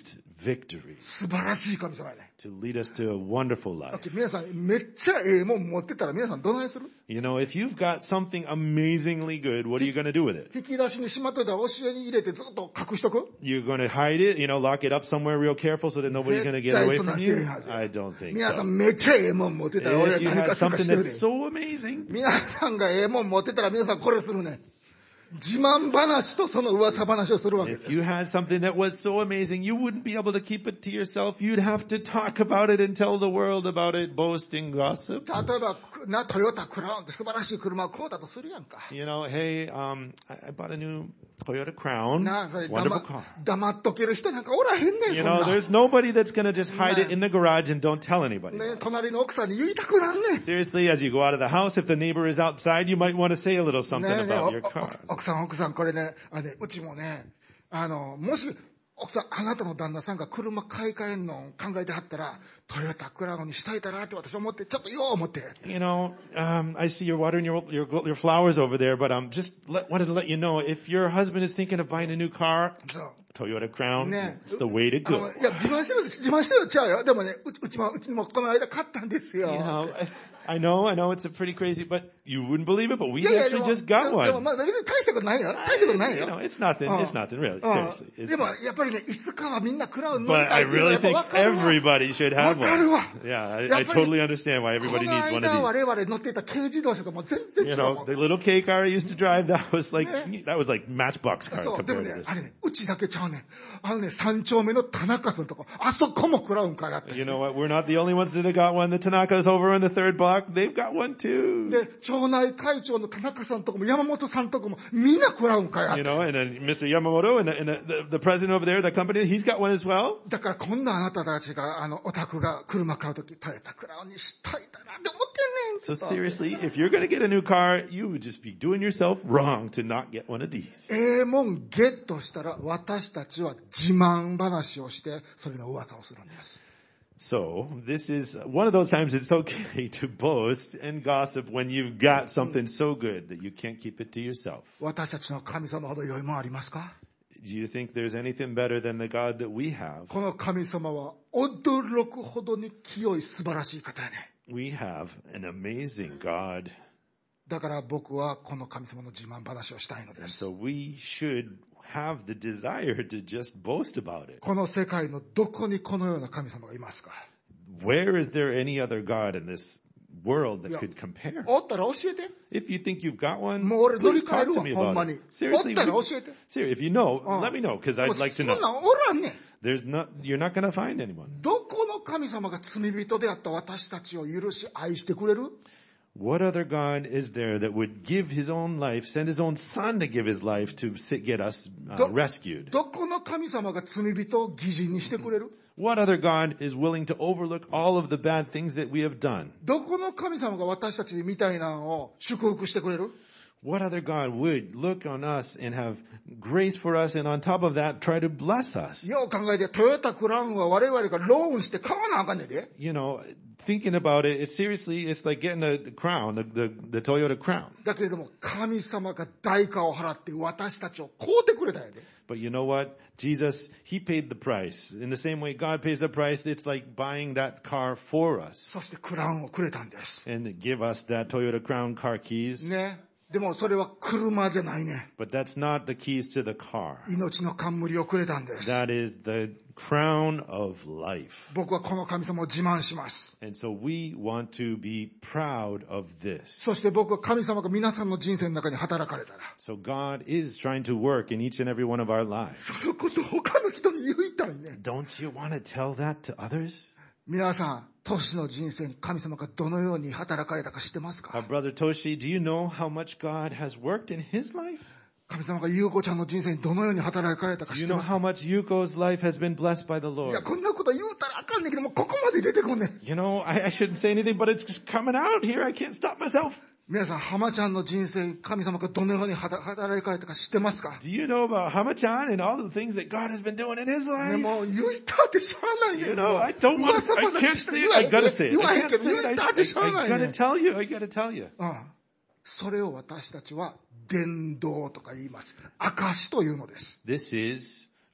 victory, 素晴らしい神様やね。 to lead us to a wonderful だっ life. て皆さんめっちゃええもん持ってたら皆さんどないする？ You know, if you've got something amazingly good, what are you going to do with it? 引き出しにしまっといたら教えに入れてずっと隠しとく？ You're going to hide it, lock it up somewhere real careful so that nobody's going to get away from you? I don't think 皆さ so. んめっちゃええもん持ってたら俺は If you 何 have かするか something してる that's で。 so amazing, 皆さんがええもん持ってたら皆さんこれするね。自慢話とその噂話をするわけで if す。 you had something that was so amazing, you wouldn't be able to keep it to yourself. You'd have to talk about it and tell the world about it, boast and gossip. 例えばトヨタクラウンって素晴らしい車を買うたとするやんか。 Hey, I bought a new Toyota Crown. なあ、それ Wonderful car. 黙っとける人なんかおらへんねん、そんな。 There's nobody that's going to just hide it in the garage and don't tell anybody. ね、隣の奥さんに言いたくなんねん。 Seriously, as you go out of the house, if the neighbor is outside, you might want to say a little something ねえねえ about your car. 奥さんこれね、うちもね、もし奥さんあなたの旦那さんが車買い替えんの考えてはったらトヨタクラウンにしたいたなって私思ってちょっとよう思って。 I see you're watering your flowers over there, but wanted to let you know if your husband is thinking of buying a new car, そう。 Toyota Crown, ね it's the way to go. いや自慢してるちゃうよ。でもね、うちにもこの間買ったんですよ。 I know it's a pretty crazy, but you wouldn't believe it, but we いやいや actually just got でも one. まあ別に大したことないよ。大したことないよ。 It's nothing really, seriously. でもやっぱりね、いつかはみんなクラウン乗り But た I いっていうのは really やっぱ think 分かるわ。 everybody should have わかるわ。 one. Yeah, や I っぱり totally understand why こ everybody の needs one 間 of 我 these. 々乗っていた軽自動車とも全然違うもん。 The little K car I used to drive, that was like Matchbox car そう、でも compared ね to、this. あれね、うちだけちゃうね。3丁目の田中さんとこ、あそこもクラウン買いあった。 You know what? We're not the only ones that have got one. The Tanaka's over in the third block. They've got one too. で、町内会長の田中さんとこも山本さんとこもみんなクラウン買いあっ You た。 know, and then Mr. Yamamoto and the president over there, the company, he's got one as well. だから今度あなたたちが、お宅が車買うとき、トヨタクラウンにしたいだなって思ってんねん。 So seriously, if you're going to get a new car, you would just be doing yourself wrong to not get one of these. ええもんゲットしたら私たちは自慢話をしてそれの噂をするんです。 So this is one of those times it's okay to boast and gossip when you've got something so good that you can't keep it to yourself. 私たちの神様ほど良いもんありますか？ Do you think there's anything better than the God that we have? この神様は驚くほどに清い素晴らしい方やね。 We have an amazing God. だから僕はこの神様の自慢話をしたいので And す。 so we should have the desire to just boast about it. この世界のどこにこのような神様がいますか？ Where is there any other God in this world that Yeah. could compare? おったら教えて。 If you think you've got one, もう俺乗り please 換え talk る to わ、 me ほん about ま it. に。お Seriously, ったら教えて。 seriously, if you know, うん let me know because もう I'd like to そん know. なんおらんねん。 You're not going to find anyone. どこの神様が罪人であった私たちを許し愛してくれる？ What other God is there that would give his own life, send his own son to give his life to get us rescued? どこの神様が罪人を義人にしてくれる？ What other God is willing to overlook all of the bad things that we have done? どこの神様が私たちみたいなのを祝福してくれる？ What other God would look on us and have grace for us and on top of that try to bless us? よう考えて、トヨタクラウンは我々がローンして買わなあかんねんで。 Thinking about it, it's like getting the crown, the Toyota Crown. だけれども、神様が代価を払って私たちを買うてくれたんやで。 But you know what? Jesus, he paid the price. In the same way God pays the price, it's like buying that car for us そしてクラウンをくれたんです。 and give us that Toyota Crown car keys. ね。でもそれは車じゃないね。 But that's not the keys to the car. 命の冠をくれたんです。 That is the crown of life. 僕はこの神様を自慢します。 And so we want to be proud of this. そして僕は神様が皆さんの人生の中に働かれたら、 So God is trying to work in each and every one of our lives. そのことを他の人に言いたいね。 Don't you want to tell that to others? 皆さん、トシの人生に神様がどのように働かれたか知ってますか？ Brother Toshi, do you know how much God has worked in his life? 神様が優子ちゃんの人生にどのように働かれたか Do 知 you って know ますか？ how much Yuko's life has been blessed by the いや、 Lord? こんなこと言うたらあかんねんけども、ここまで出てこんねん。 I shouldn't say anything, but it's just coming out here. I can't stop myself. 皆さん、浜ちゃんの人生、神様がどのように働かれたか知ってますか？ Do you know about Hama-chan and all the things that God has been doing in his ね、 life? もう言いたってしゃあないねん。 I don't want to, I can't say it. I gotta say it. 言わ I へん can't けど、 say 言 it. いたってしゃあない I ね gotta ん。 tell you. I gotta tell you. それを私たちは伝道とか言います。証というのです。 This is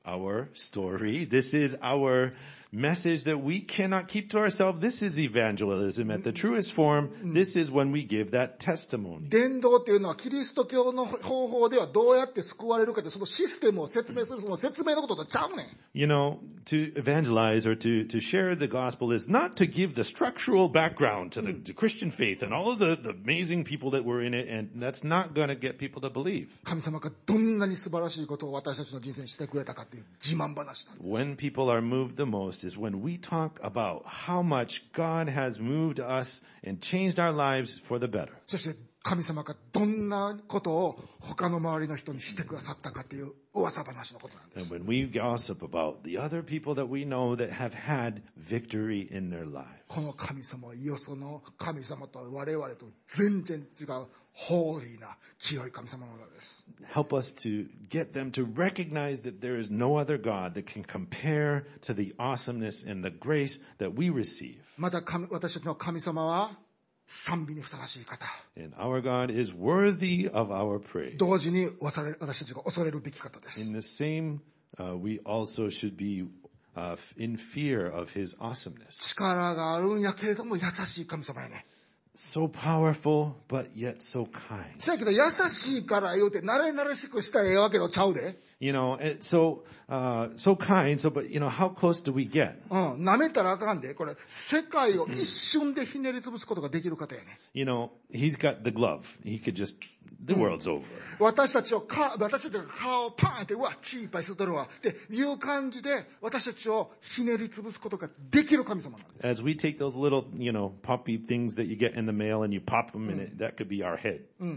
our story. This is our message that we cannot keep to ourselves. This is evangelism at the truest form. This is when we give that testimony. 伝道っていうのはキリスト教の方法ではどうやって救われるかってそのシステムを説明するその説明のこととちゃうねん。 You know, to evangelize or to share the gospel is not to give the structural background to the Christian faith and all of the amazing people that were in it, and that's not going to get people to believe. 神様がどんなに素晴らしいことを私たちの人生にしてくれたかっていう自慢話なんです。 When people are moved the most is when we talk about how much God has moved us and changed our lives for the better. そして神様がどんなことを他の周りの人にしてくださったかっていう噂話のことなんです。 And when we gossip about the other people that we know that have had victory in their lives. この神様はよその神様と我々と全然違うホーリーな清い神様なのです。 Help us to get them to recognize that there is no other God that can compare to the awesomeness and the grace that we receive. また私たちの神様は賛美にふさわしい方。 And our God is worthy of our praise. 同時に私たちが恐れるべき方です。 In the same, we also should be in fear of His awesomeness. 力があるんやけれども優しい神様やね。 So powerful, but yet so kind. せやけど優しいから言うて慣れ慣れしくしたらええわけのちゃうで。 You know, so kind, but you know, how close do we get? 舐めたらあかんで。これ、世界を一瞬でひねり潰すことができる方やね。 You know, He's got the glove. He could just, the world's over. 私たちが顔をパーンって、うわ、血いっぱい吸っとるわ。っていう感じで、私たちをひねり潰すことができる神様なんです。 As we take those little, you know, poppy things that you get in the mail and you pop them in it, that could be our head.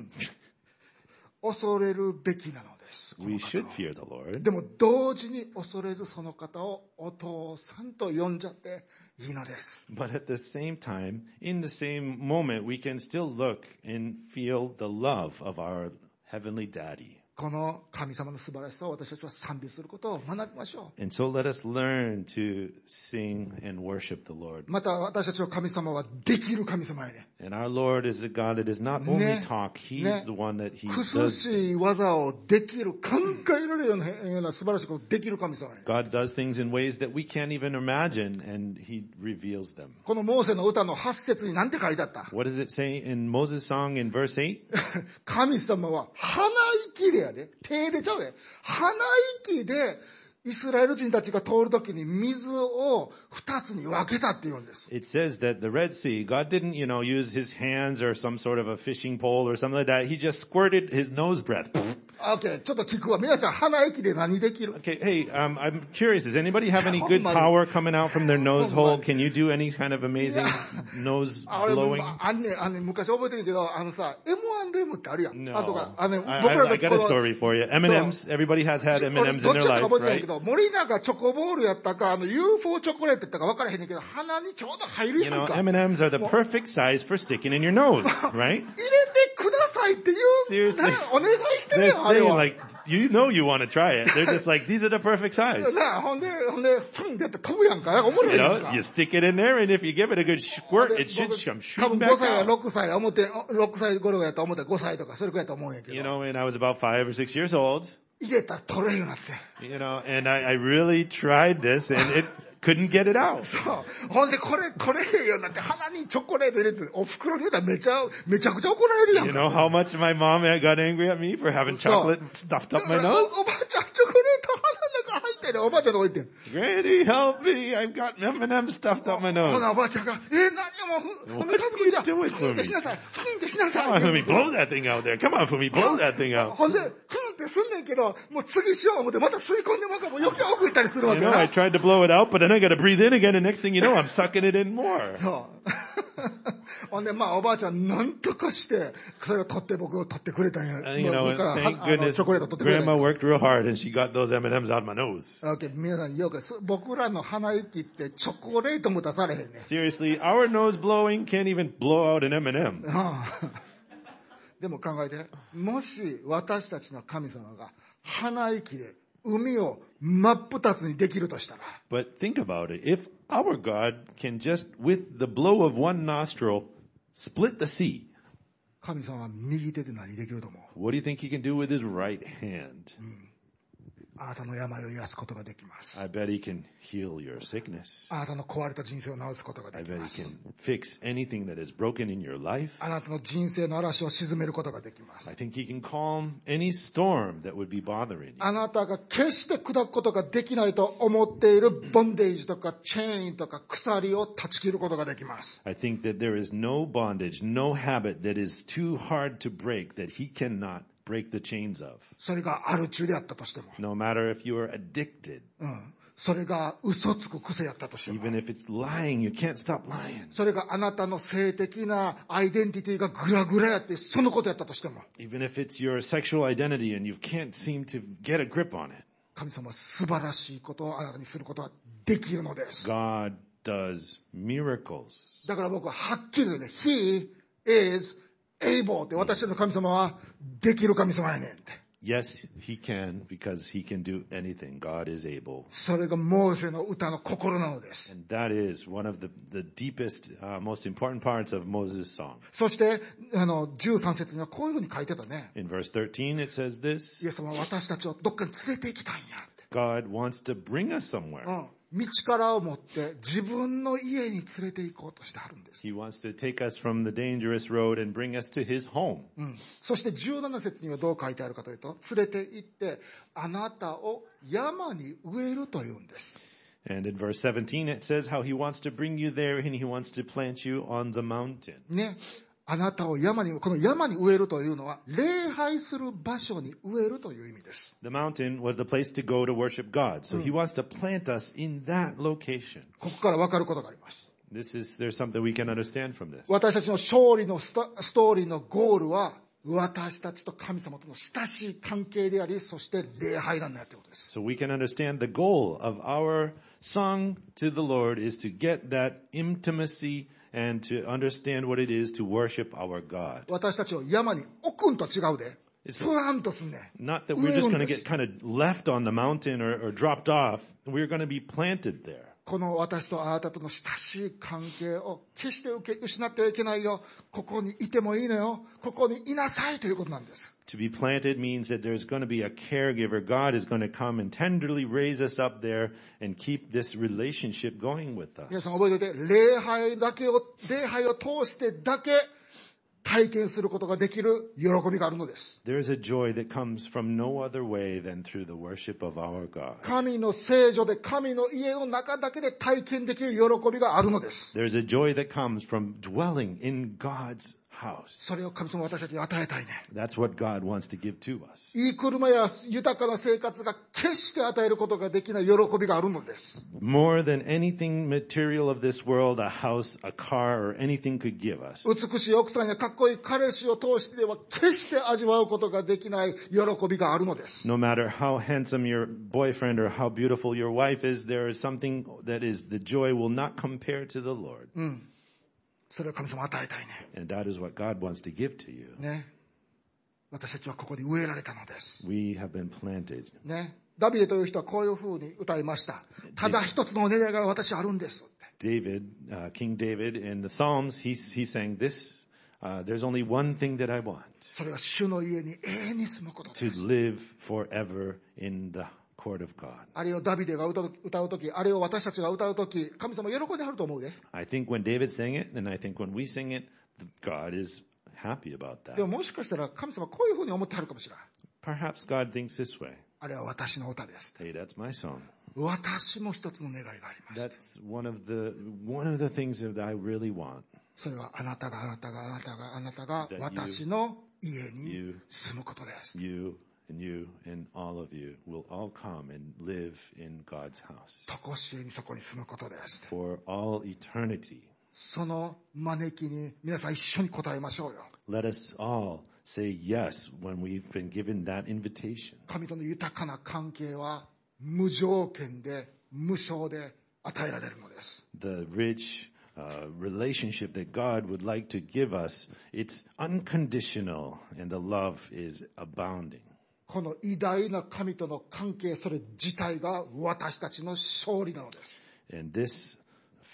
恐れるべきなのです。 We should fear the Lord. でも同時に恐れずその方をお父さんと呼んじゃっていいのです。 But at the same time, in the same moment, we can still look and feel the love of our heavenly daddy. この神様の素晴らしさを私たちは賛美することを学びましょう。 And so let us learn to sing and worship the Lord. また私たちの神様はできる神様やね。 And our Lord is a God that is not only talk, He's the one that He 苦 does. しい技をできる、考えられるような素晴らしいことをできる神様やね。 God does things in ways that we can't even imagine, and He reveals them. このモーセの歌の8節に何て書いてあった？ What does it say in Moses' song in verse 8? 神様は鼻息でやで、手でちゃうで、鼻息でイスラエル人たちが通るときに水を2つに分けたって言うんです。 It says that the Red Sea, God didn't, you know, use His hands or some sort of a fishing pole or something like that. He just squirted His nose breath. Okay, ちょっと聞くわ。皆さん鼻息で何できる？ Okay, hey, I'm curious. Does anybody have any good power coming out from their nose hole? Can you do any kind of amazing nose あれ blowing? 昔覚えてるけど、M&M ってあるやん。 No. あとか、 I got a story for you. M&Ms, everybody has had M&Ms in their life, 覚えてないけ right? ど、森永チョコボールやったか、UFO チョコレートやったか分からへんねんけど、鼻にちょうど入る You やん know, か。 M&Ms are the perfect size for sticking in your nose, right? 入れてくださいって言う、 Seriously. お願いしてる They're よ、あれ saying は。 like, you know you want to try it. They're just like, these are the perfect size. なあ、ほんで、フンってやって飛ぶやんか。おもろ You いやんか know, you stick it in there and if you give it a good squirt, it should come 多分 shooting 5 back 歳や out. 6歳や思って6歳頃やと思って5歳とかそれくらいやと思うんやけ You ど know, when I was about 5 or 6 years old, 入れたら取れるようになって you know, and I really tried this and it couldn't get it out. そうほんでこれ取れへんようになって鼻にチョコレート入れてお袋に言うたらめちゃくちゃ怒られるやん You か know how much my mom got angry at me for having chocolate stuffed だ up か my ら nose? おばあちゃんチョコレート鼻の中入ってるおばあちゃんの置いてん Granny, help me. I've got M&M stuffed up my ほ nose. なおばあちゃんが何もほんで家族じゃフンってしなさいフンってしなさ Come on, い Fumi, blow that thing out there. Come on, Fumi, blow that thing out. ほんでフンってすんねんけどもう次しよう思ってまた吸い込んでもう余計奥行ったりするわ You け know, や I な tried to blow it out, but then I got to breathe in again, and next thing you know, I'm sucking it in more. そうほんでまあおばあちゃんなんとかしてそれを取って僕を取ってくれたんや You know, 僕から thank チ goodness ョコレート取ってくれたん Grandma や worked real hard, and she got those M&Ms out of my nose. OK 皆さんよく僕らの鼻息ってチョコレートも出されへんね Seriously, our nose blowing can't even blow out an M&M. でも考えてもし私たちの神様が鼻息で海を真っ二つにできるとしたら But think about it. If our God can just, with the blow of one nostril, split the sea, 神様は右手で何できると思う what do you think he can do with his right hand? あなたの病を癒すことができます。 I bet he can heal your sickness. あなたの壊れた人生を治すことが I でき bet ま he す。 can fix anything that is broken in your life. あなたの人生の嵐を鎮めることができます。 I think he can calm any storm that would be bothering you. あなたが決して砕くことができないと思っているボンデージとかチェーンとか鎖を断ち切ることができます。 I think that there is no bondage, no habit that is too hard to break that he cannot break the chains of. それがアル中であったとしても、 No matter if you are addicted, それが嘘つく癖やったとしても、 even if it's lying, you can't stop lying. それがあなたの性的なアイデンティティがグラグラやってそのことやったとしても、 Even if it's your sexual identity and you can't seem to get a grip on it. 神様は素晴らしいことをあなたにすることはできるのです。 God does miracles. だから僕ははっきり言うね、He is able って、私の神様はできる神様やねんって。 Yes, he can, because he can do anything. God is able. それがモーセの歌の心なのです。 And that is one of the deepest, most important parts of Moses' song. そして13節にはこういうふうに書いてたね。 In verse 13, it says イエ this: ス様は私たちをどっかに連れて行きたいんやって。 God wants to bring us somewhere. 道からを持って自分の家に連れて行こうとしてはるんです。 He wants to take us from the dangerous road and bring us to his home. そして17節にはどう書いてあるかというと、連れて行ってあなたを山に植えるというんです。 And in verse 17, it says how he wants to bring you there and he wants to plant you on the mountain. ね。あなたを山に、この山に植えるというのは、礼拝する場所に植えるという意味です。 The mountain was the place to go to worship God. So he wants to plant us in that location. ここから分かることがあります。 There's something we can understand from this. 私たちの勝利のストーリーのゴールは、私たちと神様との親しい関係であり、そして礼拝なんだということです。 So we can understand the goal of our song to the Lord is to get that intimacy and to understand what it is to worship our God. 私たちを山に置くんと違うで。プランとすんね。 Not that we're just going to get kind of left on the mountain or dropped off. We're going to be planted there. この私とあなたとの親しい関係を決して失ってはいけないよ。ここにいてもいいのよ。ここにいなさいということなんです。 To be planted means that there's going to be a caregiver. God is going to come and tenderly raise us up there and keep this relationship going with us. 皆さん覚えておいて、礼拝を通してだけ体験することができる喜びがあるのです。 There is a joy that comes from no other way than through the worship of our God. 神の聖女で神の家の中だけで体験できる喜びがあるのです。 There's a joy that comes from dwelling in God's house. それを神様は私たちに与えたいね。 That's what God wants to give to us. いい車や豊かな生活が決して与えることができない喜びがあるのです。 More than anything material of this world, a house, a car, or anything could give us. 美しい奥さんやかっこいい彼氏を通してでは決して味わうことができない喜びがあるのです。 No matter how handsome your boyfriend or how beautiful your wife is, there is something that is the joy will not compare to the Lord. それを神様与えたいね。 And that is what God wants to give to you. ね。私たちはここに植えられたのです。 We have been planted. ね。ダビデという人はこういうふうに歌いました。ただ一つのお願いが私あるんです。 King David, in the Psalms, he sang this. There's only one thing that I want. それは主の家に永遠に住むことで To す。 live forever in the court of God. あれをダビデが歌うとき、あれを私たちが歌うとき、神様喜んではると思うで。 I think when David sang it, and I think when we sing it, God is happy about で that. ももしかしたら神様こういうふうに思ってはるかもしれない。 Perhaps God thinks this way. あれは私の歌です。 Hey, that's my song. 私も一つの願いがありまして。 That's one of the things that I really want. それはあなたが私の家に住むことです。 You and all of you will all come and live in God's house とこしえにそこに住むことです。 for all eternity. その招きに皆さん一緒に答えましょうよ。 Let us all say yes when we've been given that invitation. 神との豊かな関係は無条件で無償で与えられるのです。 The rich relationship that God would like to give us, it's unconditional and the love is abounding. この偉大な神との関係、それ自体が私たちの勝利なのです。 And this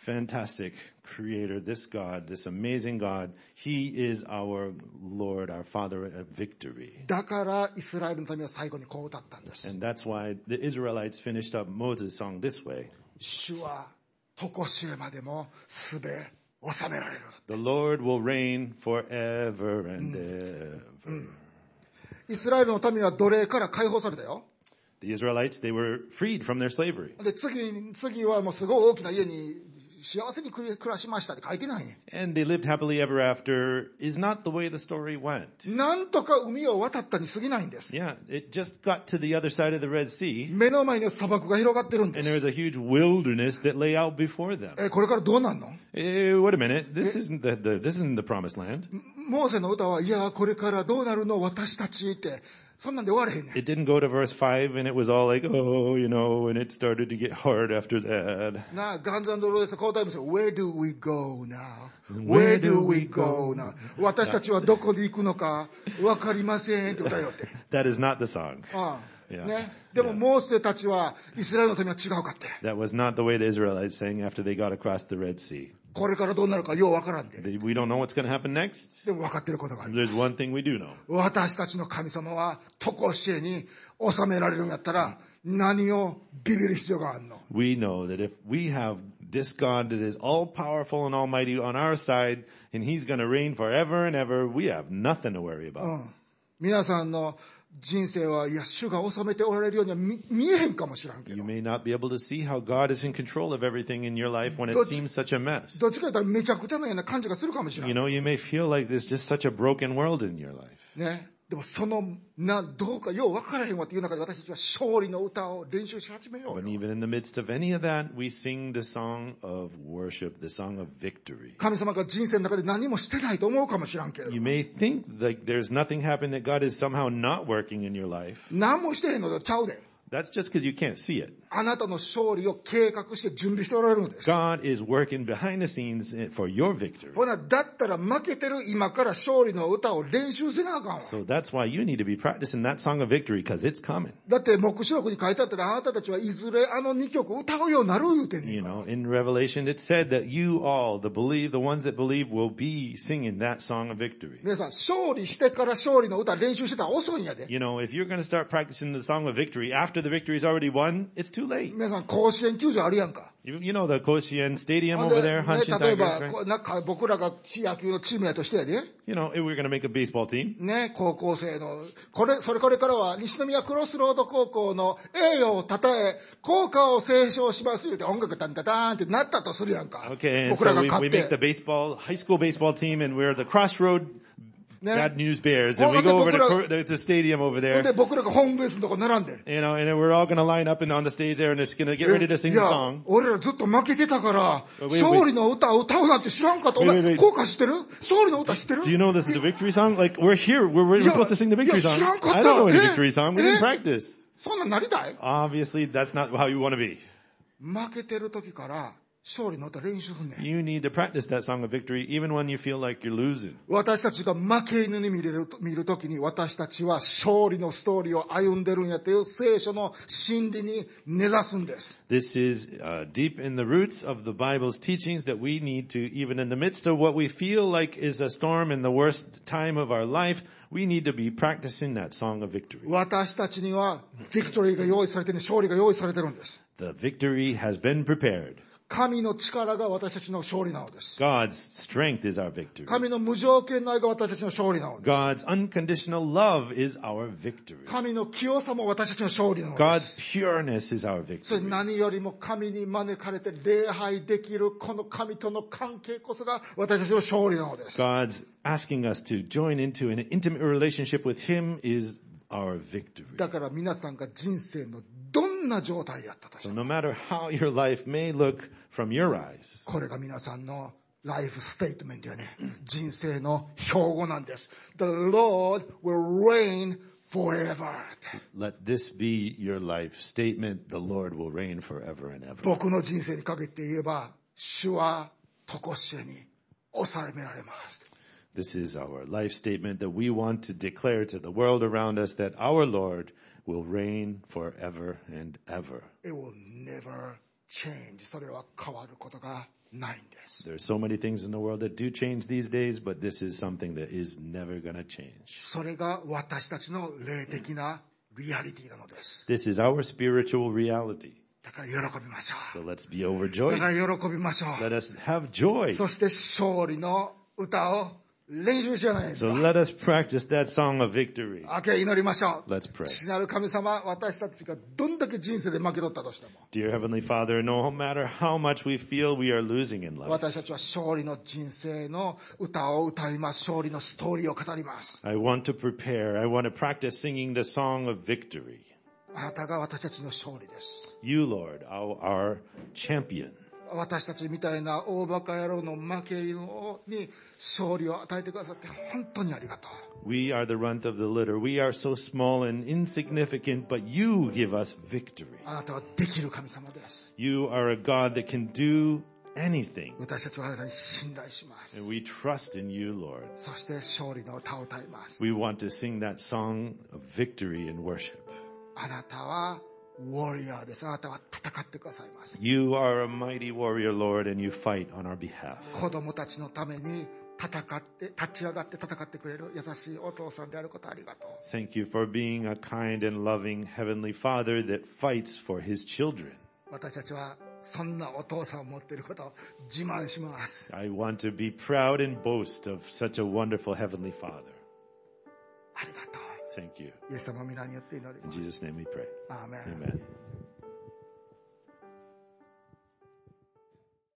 fantastic creator, this God, this amazing God, He is our Lord, our Father of victory. だからイスラエルの民は最後にこう歌ったんです。 And that's why the Israelites finished up Moses' song this way. 主は常しえまでもすべ収められる。 The Lord will reign forever and ever. イスラエルの民は奴隷から解放されたよ。 The Israelites, they were freed from their slavery. で、次はもうすごい大きな家に幸せに暮らしましたって書いてないね。 And they lived happily ever after is not the way the story went. なんとか海を渡ったに過ぎないんです。 Yeah, it just got to the other side of the Red Sea, 目の前に砂漠が広がってるんで and there す。 was a huge wilderness that lay out before them. これからどうなんの？ Wait a minute, this isn't the promised land. モーセの歌は、いや、これからどうなるの私たちって、そんなんで終われへんねん。 It didn't go to verse 5 and it was all like, oh, and it started to get hard after that. なあ、ガンズ&ローゼス交代もして、Where do we go now? Where do we go now? 私たちはどこに行くのかわかりませんって歌よって。 That is not the song. ああ Yeah. ね。でも、モーセたちは、イスラエルの民は違うかって。 That was not the way the Israelites sang after they got across the Red Sea. これからどうなるかようわからんで。 We don't know what's going to happen next. でも分かってることがある。 There's one thing we do know. 私たちの神様は、常しえに収められるんやったら、何をビビる必要があるの？ We know that if we have this God that is all powerful and almighty on our side, and He's going to reign forever and ever, we have nothing to worry about. 皆さんの人生は、いや、主が治めておられるようには見えへんかもしれんけ You ど。 may not be able to see how God is in control of everything in your life when it Don't- seems such a mess. どっちか言ったらめちゃくちゃなような感じがするかもしれん。 You know, you may feel like there's just such a broken world in your life. ね。でもどうかよう分からへんわっていう中で私たちは勝利の歌を練習し始めよう But よ。 even in the midst of any of that, we sing the song of worship, the song of victory. 神様が人生の中で何もしてないと思うかもしれんけれど You。may think like there's nothing happening, that God is somehow not working in your life. 何もしてへんのとちゃうで。 That's just because you can't see it. あなたの勝利を計画して準備しておられるのです。 God is working behind the scenes for your victory. ほな、だったら負けてる今から勝利の歌を練習せなあかんわ。 So that's why you need to be practicing that song of victory, because it's coming. だって黙示録に書いてあったらあなたたちはいずれあの2曲歌うようになる言うてんね You んから。 know, in Revelation it said that you all, the ones that believe, will be singing that song of victory. 皆さん、勝利してから勝利の歌練習してたら遅いんやで。 You know, if you're going to start practicing the song of victory after the victory is already won, it's too late. 皆さん、甲子園球場あるやんか。 You know the Koshien Stadium ほんで over there, ね Hanshin 例え Tigers, ば、 right? なんか僕らが野球のチームやとしてやで。 You know, if we're going to make a baseball team, ね、高校生の、これからは西宮クロスロード高校の栄誉をたたえ、校歌を斉唱します言うて音楽タンタターンってなったとするやんか。 okay, and 僕ら so が we 勝っ make the て。 high school baseball team, and we're the Crossroad ね。 Bad News Bears, and we Oh, go over 僕ら- to the stadium over ほん there, で僕らがホームベースのとこ並んで。 you know, and then we're all going to line up and on the stage there, and it's going to get ready to sing い the や song. 俺らずっと負けてたから、 Wait, wait. 勝利の歌を歌うなんて知らんかった。お Wait, wait, 前、 wait. 校歌知ってる？勝利の歌知ってる？ Do you know this is the victory song? Like, we're here, we're Yeah, supposed to sing the victory yeah, song. 知らんかった。 I don't know any え？ victory song. We え？ didn't practice. そんなんなりたい？ Obviously, that's not how you want to be. 負けてる時から勝利の歌練習すんねん。 You need to practice that song of victory even when you feel like you're losing. 私たちが負け犬に見る時に私たちは勝利のストーリーを歩んでるんやという聖書の真理に根ざすんです。 This is deep in the roots of the Bible's teachings that we need to, even in the midst of what we feel like is a storm in the worst time of our life, we need to be practicing that song of victory. 私たちにはビクトリーが用意されてる、勝利が用意されてるんです。 The victory has been prepared. 神の力が私たちの勝利なのです。 God's strength is our victory. 神の無条件の愛が私たちの勝利なのです。 God's unconditional love is our victory. 神の清さも私たちの勝利なので God's す。 pureness is our それ victory. 何よりも神に招かれて礼拝できるこの神との関係こそが私たちの勝利なのです。 God's asking us to join into an intimate relationship with Him is our victory. だから皆さんが人生のどんな状態やったとし So て no matter how your life may look from your eyes, これが皆さんのライフステートメントやね。人生の標語なんです。The Lord will reign forever. let this be your life statement. The Lord will reign forever and ever. 僕の人生にかけて言えば、主は常しえに収められます。 This is our life statement that we want to declare to the world around us that our Lord will reign forever and ever. It will never change. それは変わることがないんです。 There are so many things in the world that do change these days, but this is something that is never going to change. それが私たちの霊的なリアリティなのです。 This is our spiritual reality. だから喜びましょ So う。 let's be だ overjoyed. から喜びましょ Let う。 us have joy. そして勝利の歌を練習しようじゃないです So か。 let us practice that song of victory. 明け祈りましょう。 Let's pray. 父なる神様、私たちがどんだけ人生で負け取ったとしても、 Dear Heavenly Father, no matter how much we feel we are losing in life, 私たちは勝利の人生の歌を歌います。勝利のストーリーを語ります。 I want to prepare. I want to practice singing the song of victory. あなたが私たちの勝利です。 You, Lord, our champion. 私たちみたいな大バカ野郎の負け犬に勝利を与えてくださって本当にありがとう。 We are the runt of the litter. We are so small and insignificant, but you give us victory. あなたはできる神様です。 You are a God that can do anything. 私たちはあなたに信頼します。 And we trust in you, Lord. そして勝利の歌を歌います。 We want to sing that song of victory and worship. あなたはウォリアーです。あなたは戦ってくださいます。 You are a mighty warrior, Lord, and you fight on our behalf. 子供たちのために戦って立ち上がって戦ってくれる優しいお父さんであることありがとう。 Thank you for being a kind and loving Heavenly Father that fights for His children. 私たちはそんなお父さんを持っていることを自慢します。 I want to be proud and boast of such a wonderful Heavenly Father. ありがとう。 Thank you. イエス様の皆によって祈り In ます。 Jesus' name we pray. アーメン。 Amen.